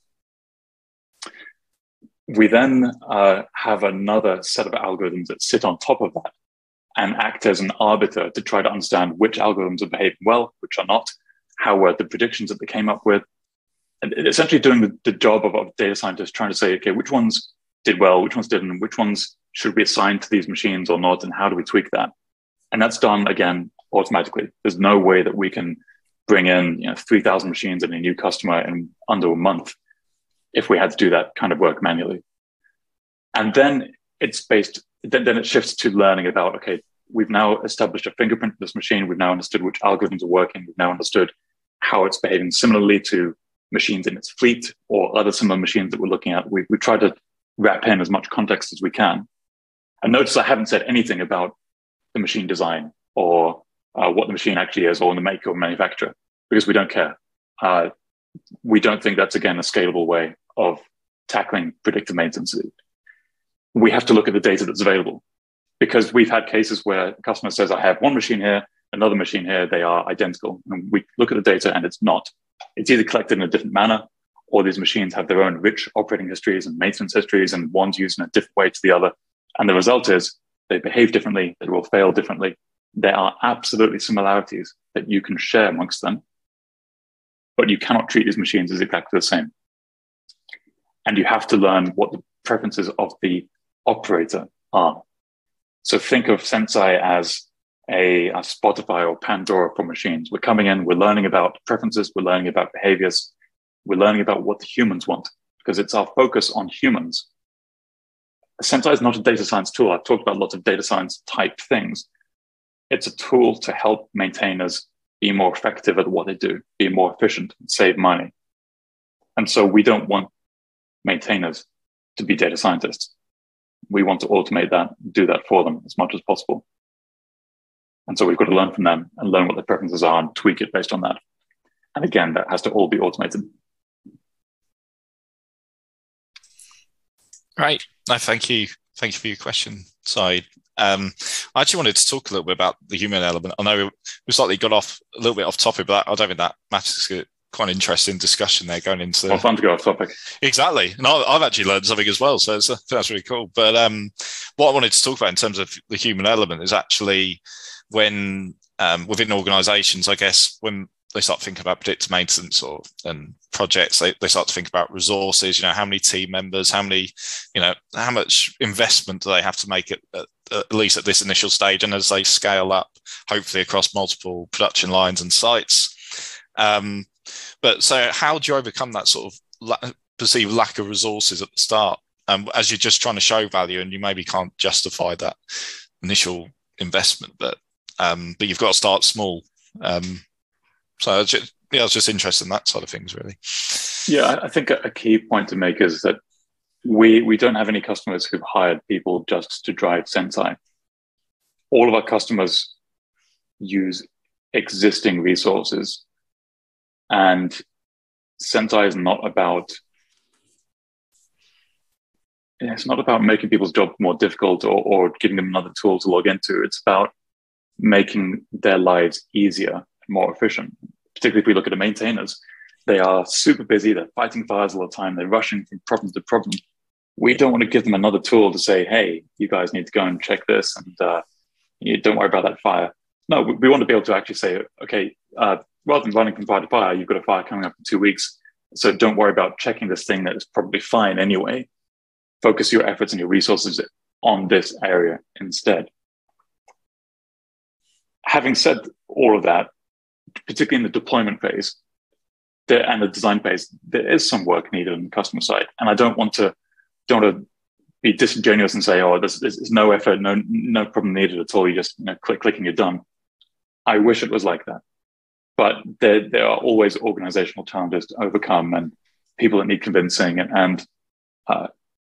We then uh, have another set of algorithms that sit on top of that and act as an arbiter to try to understand which algorithms are behaving well, which are not, how were the predictions that they came up with, and essentially doing the, the job of, of data scientists, trying to say, okay, which ones did well, which ones didn't, which ones should be assigned to these machines or not, and how do we tweak that? And that's done, again, automatically. There's no way that we can bring in you know, three thousand machines and a new customer in under a month if we had to do that kind of work manually. And then it's based, then, then it shifts to learning about, okay, we've now established a fingerprint of this machine. We've now understood which algorithms are working. We've now understood how it's behaving similarly to machines in its fleet or other similar machines that we're looking at. We, we try to wrap in as much context as we can. And notice I haven't said anything about the machine design or uh, what the machine actually is or the maker or manufacturer, because we don't care. Uh, we don't think that's, again, a scalable way of tackling predictive maintenance. We have to look at the data that's available, because we've had cases where the customer says, I have one machine here, another machine here, they are identical. And we look at the data and it's not. It's either collected in a different manner, or these machines have their own rich operating histories and maintenance histories, and one's used in a different way to the other. And the result is they behave differently, they will fail differently. There are absolutely similarities that you can share amongst them, but you cannot treat these machines as exactly the same. And you have to learn what the preferences of the operator are. So think of Senseye as a, a Spotify or Pandora for machines. We're coming in, we're learning about preferences, we're learning about behaviors, we're learning about what the humans want. because it's our focus on humans. Senseye is not a data science tool. I've talked about lots of data science type things. It's a tool to help maintainers be more effective at what they do, be more efficient, save money. And so we don't want maintainers to be data scientists. We want to automate that, do that for them as much as possible. And so we've got to learn from them and learn what their preferences are and tweak it based on that. And again, that has to all be automated. Right. No, thank you. Thank you for your question, Saeed. Um, I actually wanted to talk a little bit about the human element. I know we slightly got off a little bit off topic, but I don't think that matters. Quite an interesting discussion there going into. Well, fun to go off topic. Exactly, and I've actually learned something as well, so it's, I think that's really cool. But um, what I wanted to talk about in terms of the human element is actually when um, within organisations, I guess, when they start thinking about predictive maintenance or and projects, they, they start to think about resources. You know, how many team members, how many, you know, how much investment do they have to make at, at, at least at this initial stage, and as they scale up, hopefully across multiple production lines and sites. Um, But so how do you overcome that sort of la- perceived lack of resources at the start um, as you're just trying to show value and you maybe can't justify that initial investment, but um, but you've got to start small. Um, so just, yeah, I was just interested in that side of things, really. Yeah, I think a key point to make is that we we don't have any customers who've hired people just to drive Senseye. All of our customers use existing resources. And Senseye is not about, it's not about making people's job more difficult or, or giving them another tool to log into. It's about making their lives easier and more efficient. Particularly if we look at the maintainers, they are super busy. They're fighting fires all the time. They're rushing from problem to problem. We don't want to give them another tool to say, hey, you guys need to go and check this and uh, you don't worry about that fire. No, we, we want to be able to actually say, okay, uh, rather than running from fire to fire, you've got a fire coming up in two weeks. So don't worry about checking this thing that is probably fine anyway. Focus your efforts and your resources on this area instead. Having said all of that, particularly in the deployment phase there, and the design phase, there is some work needed on the customer side. And I don't want to, don't want to be disingenuous and say, oh, there's, there's no effort, no, no problem needed at all. You just you know, click, click and you're done. I wish it was like that. But there, there are always organizational challenges to overcome and people that need convincing and, and uh,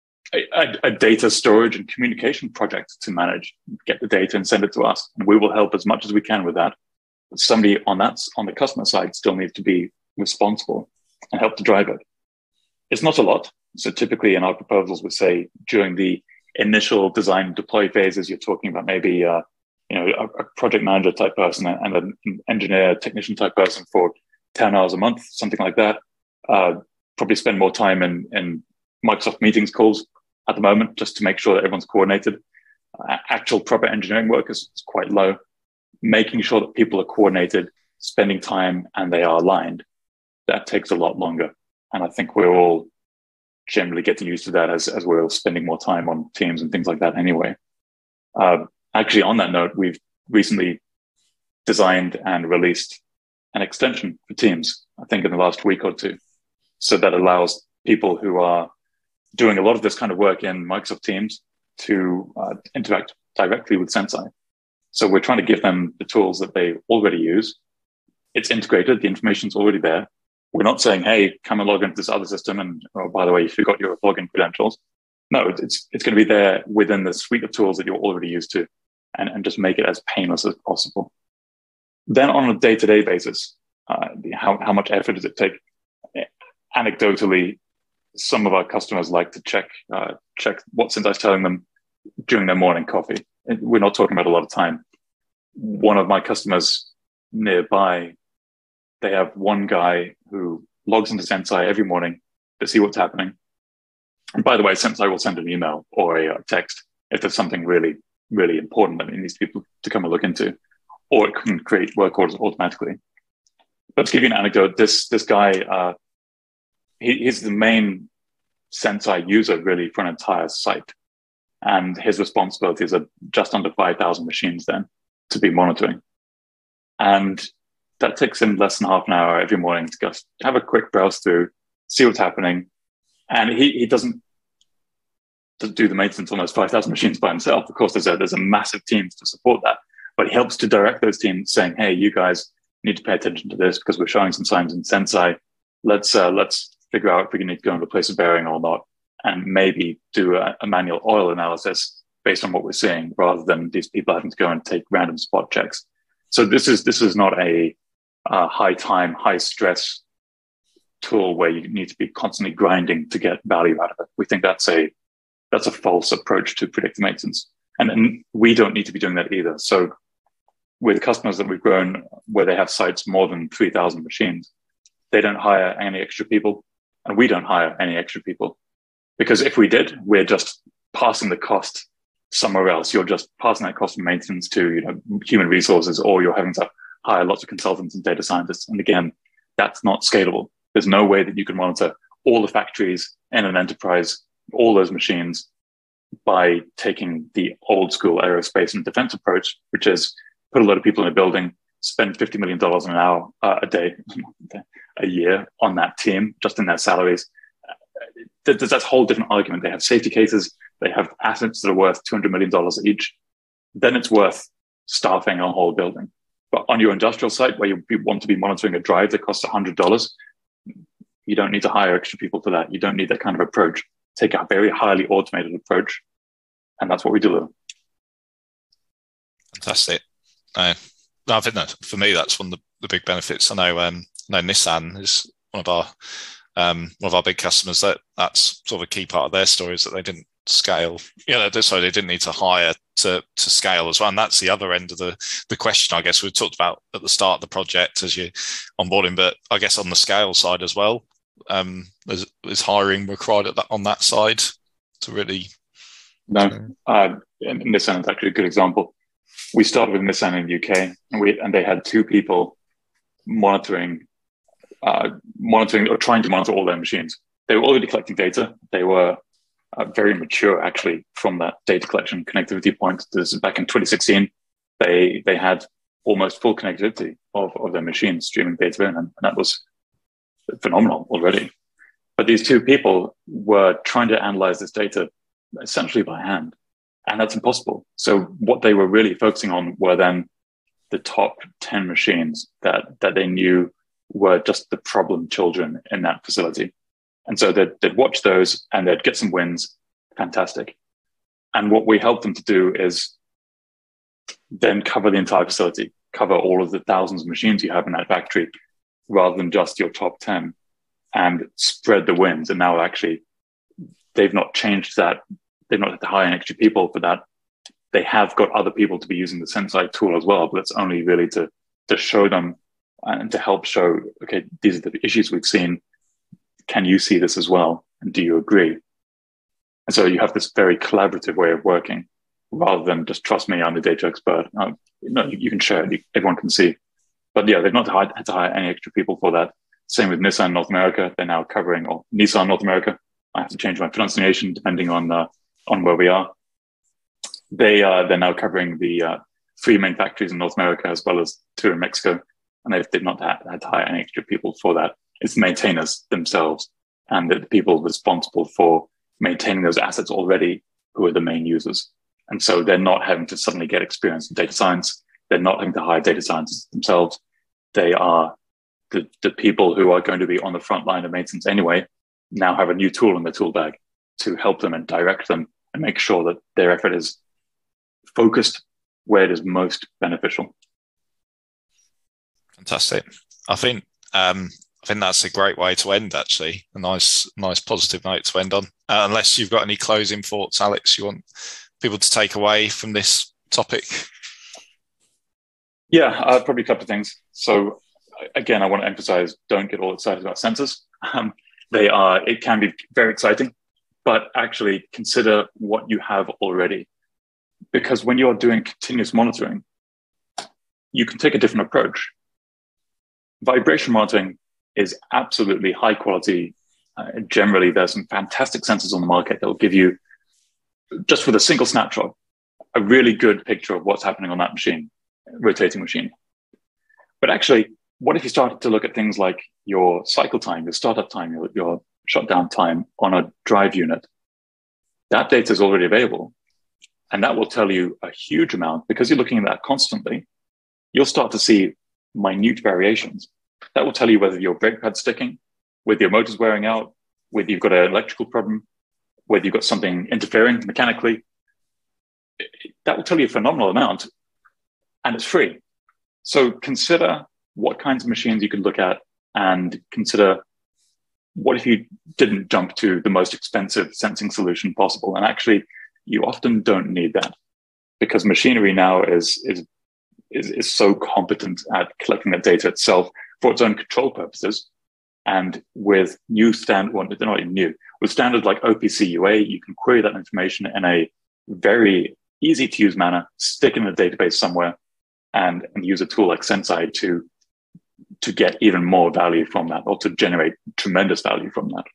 a, a data storage and communication project to manage. Get the data and send it to us. And we will help as much as we can with that. But somebody on that, on the customer side still needs to be responsible and help to drive it. It's not a lot. So typically in our proposals, we say during the initial design deploy phases, you're talking about maybe uh, you know, a, a project manager type person and an engineer, technician type person for ten hours a month, something like that. Uh, probably spend more time in, in Microsoft Meetings calls at the moment, just to make sure that everyone's coordinated. Uh, actual proper engineering work is, is quite low. Making sure that people are coordinated, spending time, and they are aligned, that takes a lot longer. And I think we're all generally getting used to that as, as we're all spending more time on Teams and things like that anyway. Uh, Actually, on that note, we've recently designed and released an extension for Teams, I think in the last week or two. So that allows people who are doing a lot of this kind of work in Microsoft Teams to uh, interact directly with Senseye. So we're trying to give them the tools that they already use. It's integrated. The information's already there. We're not saying, hey, come and log into this other system. And oh, by the way, you forgot your login credentials. No, it's it's going to be there within the suite of tools that you're already used to, and, and just make it as painless as possible. Then on a day-to-day basis, uh, how, how much effort does it take? Anecdotally, some of our customers like to check uh, check what Senseye's telling them during their morning coffee. We're not talking about a lot of time. One of my customers nearby, they have one guy who logs into Senseye every morning to see what's happening. And by the way, Senseye will send an email or a text if there's something really, really important that it needs people to come and look into, or it can create work orders automatically. But to give you an anecdote, this this guy, uh, he, he's the main Senseye user really for an entire site. And his responsibilities are just under five thousand machines then to be monitoring. And that takes him less than half an hour every morning to just have a quick browse through, see what's happening, And he, he doesn't do the maintenance on those five thousand machines by himself. Of course, there's a, there's a massive team to support that, but he helps to direct those teams saying, hey, you guys need to pay attention to this because we're showing some signs in Senseye. Let's, uh, let's figure out if we need to go and replace a bearing or not, and maybe do a, a manual oil analysis based on what we're seeing, rather than these people having to go and take random spot checks. So this is this is not a uh, high time, high stress tool where you need to be constantly grinding to get value out of it. We think that's a that's a false approach to predictive maintenance, and, and we don't need to be doing that either. So with customers that we've grown where they have sites more than three thousand machines, they don't hire any extra people, and we don't hire any extra people, because if we did, we're just passing the cost somewhere else. You're just passing that cost of maintenance to, you know, human resources, or you're having to hire lots of consultants and data scientists. And again, that's not scalable. There's no way that you can monitor all the factories in an enterprise, all those machines, by taking the old school aerospace and defense approach, which is put a lot of people in a building, spend fifty million dollars an hour, uh, a day, a year on that team, just in their salaries. There's that whole different argument. They have safety cases. They have assets that are worth two hundred million dollars each. Then it's worth staffing a whole building. But on your industrial site, where you want to be monitoring a drive that costs one hundred dollars, you don't need to hire extra people for that. You don't need that kind of approach. Take a very highly automated approach, and that's what we deliver. Fantastic. Uh, no, I think that for me, that's one of the, the big benefits. I know, um, I know Nissan is one of our um, one of our big customers. That that's sort of a key part of their story, is that they didn't scale. You know, so they didn't need to hire to to scale as well. And that's the other end of the the question, I guess. We talked about at the start of the project as you're onboarding, but I guess on the scale side as well, um, is, is hiring required at that, on that side to really? No, uh, and Nissan is actually a good example. We started with Nissan in the U K, and we and they had two people monitoring, uh, monitoring or trying to monitor all their machines. They were already collecting data. They were uh, very mature, actually, from that data collection connectivity point. This is back in twenty sixteen. They they had almost full connectivity of, of their machines streaming data in, and, and that was phenomenal already. But these two people were trying to analyze this data essentially by hand, and that's impossible. So what they were really focusing on were then the top ten machines that that they knew were just the problem children in that facility. And so they'd, they'd watch those and they'd get some wins. Fantastic. And what we helped them to do is then cover the entire facility, cover all of the thousands of machines you have in that factory, rather than just your top ten, and spread the wins. And now actually they've not changed that. They've not had to hire any extra people for that. They have got other people to be using the Senseye tool as well, but it's only really to, to show them and to help show, okay, these are the issues we've seen. Can you see this as well? And do you agree? And so you have this very collaborative way of working, rather than just trust me, I'm the data expert. No, no, you can share it, you, everyone can see. But yeah, they've not had to hire any extra people for that. Same with Nissan North America. They're now covering, or Nissan North America. I have to change my pronunciation depending on uh, on where we are. They uh, they're now covering the uh, three main factories in North America, as well as two in Mexico, and they did not have, had to hire any extra people for that. It's the maintainers themselves and the people responsible for maintaining those assets already who are the main users. And so they're not having to suddenly get experience in data science. They're not having to hire data scientists themselves. They are the, the people who are going to be on the front line of maintenance anyway, now have a new tool in their tool bag to help them and direct them and make sure that their effort is focused where it is most beneficial. Fantastic. I think um, I think that's a great way to end, actually. A nice, nice positive note to end on. Uh, unless you've got any closing thoughts, Alex, you want people to take away from this topic? Yeah, uh, probably a couple of things. So again, I want to emphasize, don't get all excited about sensors. Um, they are, it can be very exciting, but actually consider what you have already. Because when you're doing continuous monitoring, you can take a different approach. Vibration monitoring is absolutely high quality. Uh, generally, there's some fantastic sensors on the market that will give you, just with a single snapshot, a really good picture of what's happening on that machine, rotating machine. But actually, what if you started to look at things like your cycle time, your startup time, your, your shutdown time on a drive unit, that data is already available. And that will tell you a huge amount because you're looking at that constantly. You'll start to see minute variations. That will tell you whether your brake pad's sticking, whether your motor's wearing out, whether you've got an electrical problem, whether you've got something interfering mechanically. That will tell you a phenomenal amount, and it's free. So consider what kinds of machines you could look at, and consider what if you didn't jump to the most expensive sensing solution possible. And actually, you often don't need that because machinery now is, is, is, is so competent at collecting that data itself for its own control purposes. And with new standard, well, they're not even new, with standards like O P C U A, you can query that information in a very easy to use manner, stick it in a database somewhere, and, and use a tool like Senseye to, to get even more value from that, or to generate tremendous value from that.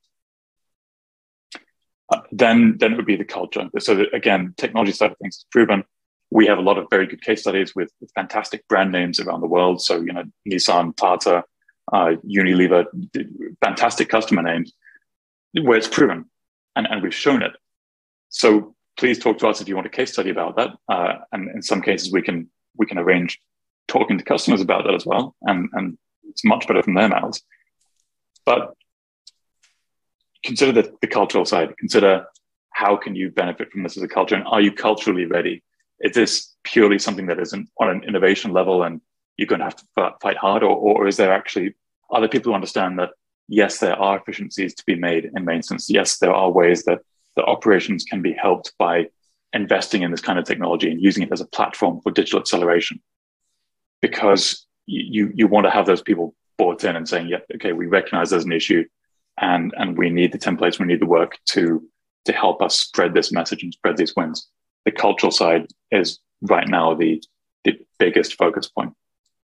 Uh, then, then it would be the culture. So that, again, technology side of things is proven. We have a lot of very good case studies with, with fantastic brand names around the world. So, you know, Nissan, Tata, uh, Unilever, fantastic customer names where it's proven, and, and we've shown it. So please talk to us if you want a case study about that. Uh, and in some cases, we can we can arrange talking to customers about that as well. And, and it's much better from their mouths. But consider the, the cultural side. Consider how can you benefit from this as a culture, and are you culturally ready? Is this purely something that isn't on an innovation level and you're going to have to fight hard, or, or is there actually other people who understand that, yes, there are efficiencies to be made in maintenance. Yes, there are ways that the operations can be helped by investing in this kind of technology and using it as a platform for digital acceleration. Because you, you want to have those people bought in and saying, yeah, okay, we recognize there's an issue, and, and we need the templates, we need the work to, to help us spread this message and spread these wins. The cultural side is right now the, the biggest focus point.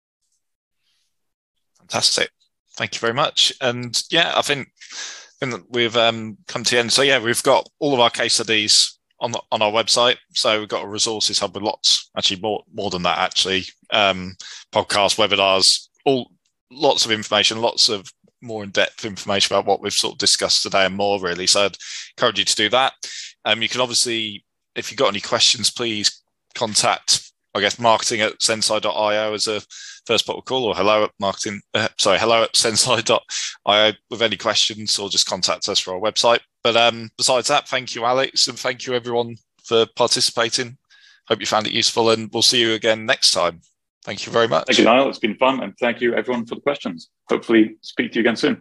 Fantastic. Thank you very much. And yeah, I think, I think that we've um, come to the end. So yeah, we've got all of our case studies on the, on our website. So we've got a resources hub with lots, actually more more than that, actually, um, podcasts, webinars, all lots of information, lots of more in-depth information about what we've sort of discussed today and more, really. So I'd encourage you to do that. Um, you can obviously, if you've got any questions, please contact, I guess, marketing at senseye dot io as a first port of call, or hello at marketing, uh, sorry, hello at senseye dot io with any questions, or just contact us for our website. But um, besides that, thank you, Alex, and thank you everyone for participating. Hope you found it useful, and we'll see you again next time. Thank you very much. Thank you, Niall. It's been fun, and thank you everyone for the questions. Hopefully speak to you again soon.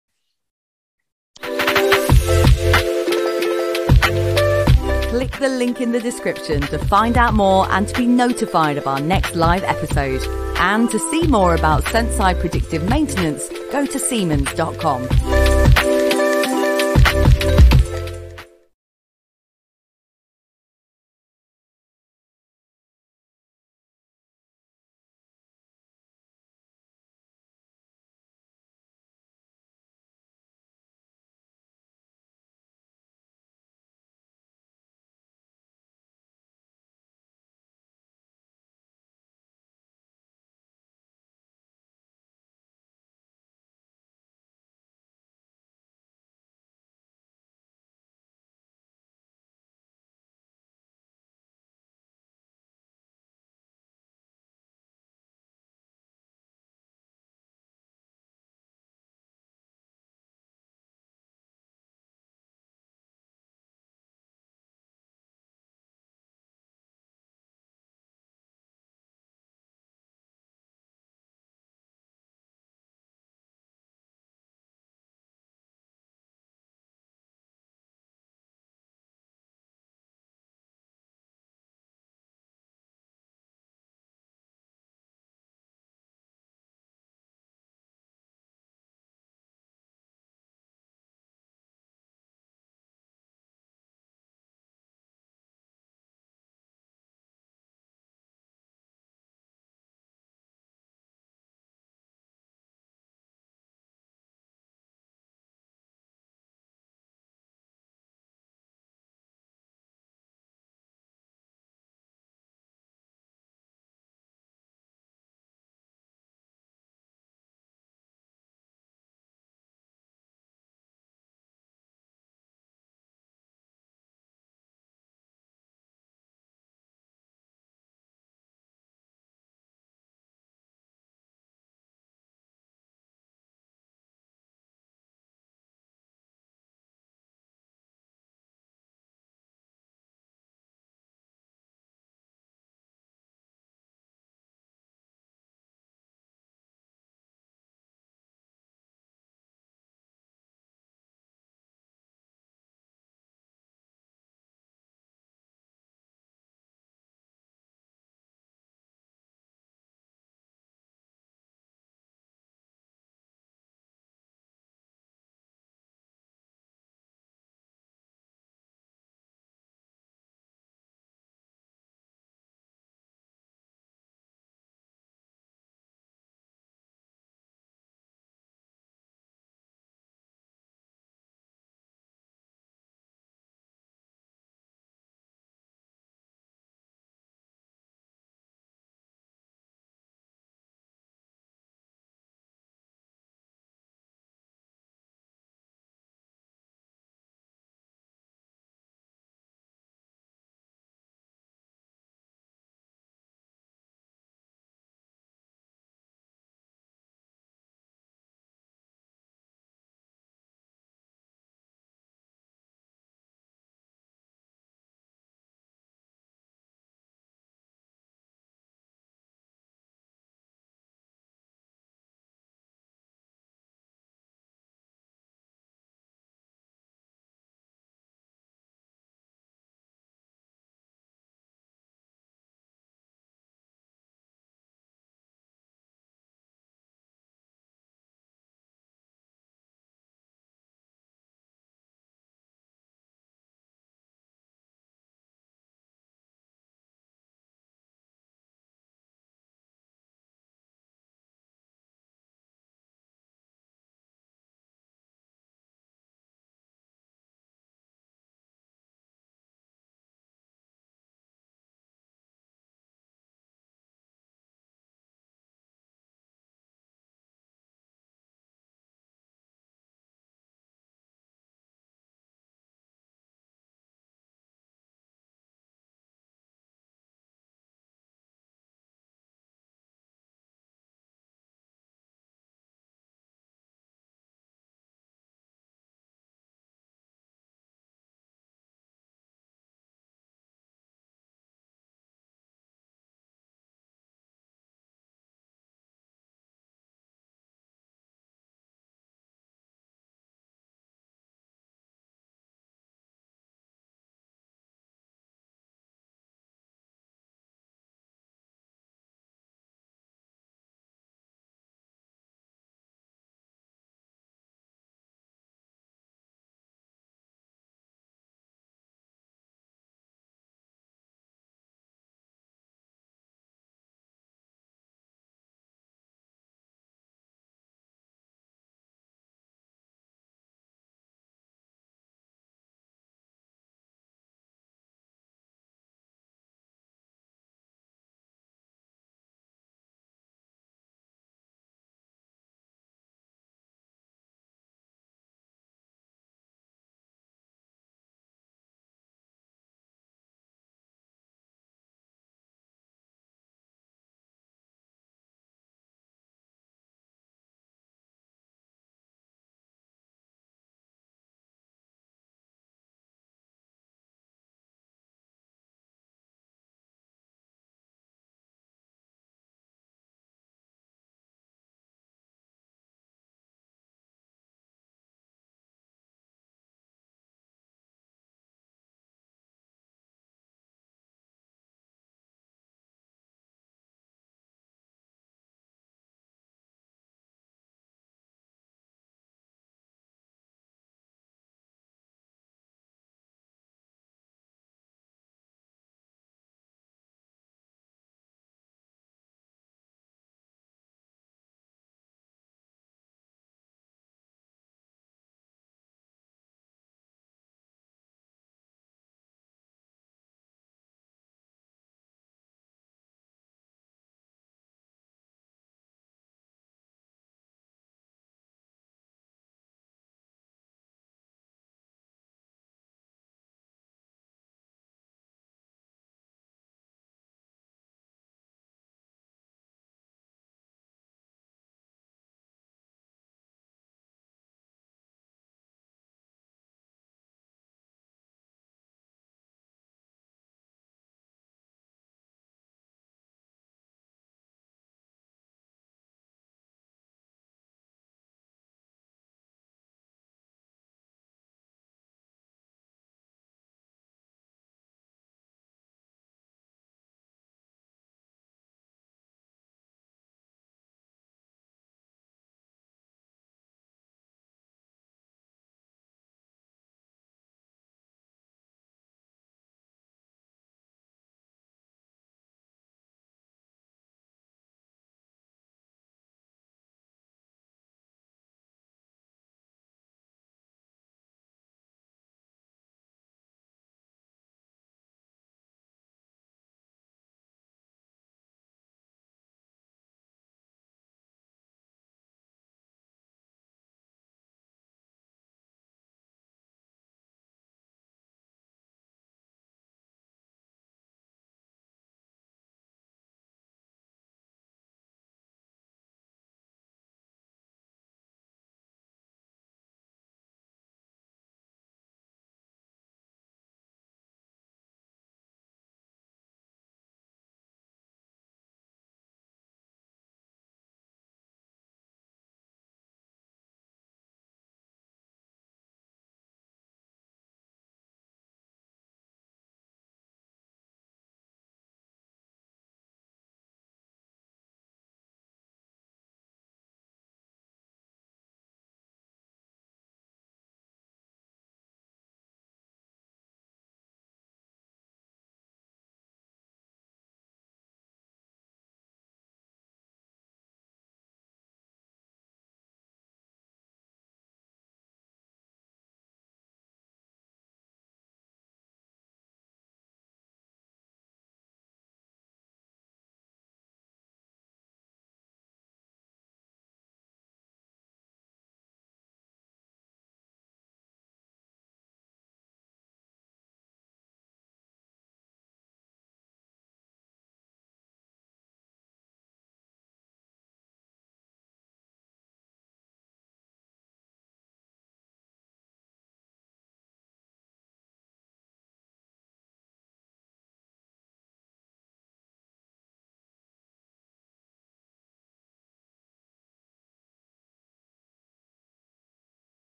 Click the link in the description to find out more and to be notified of our next live episode. And to see more about Senseye Predictive Maintenance, go to siemens dot com.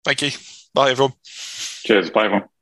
Thank you. Bye, everyone. Cheers. Bye, everyone.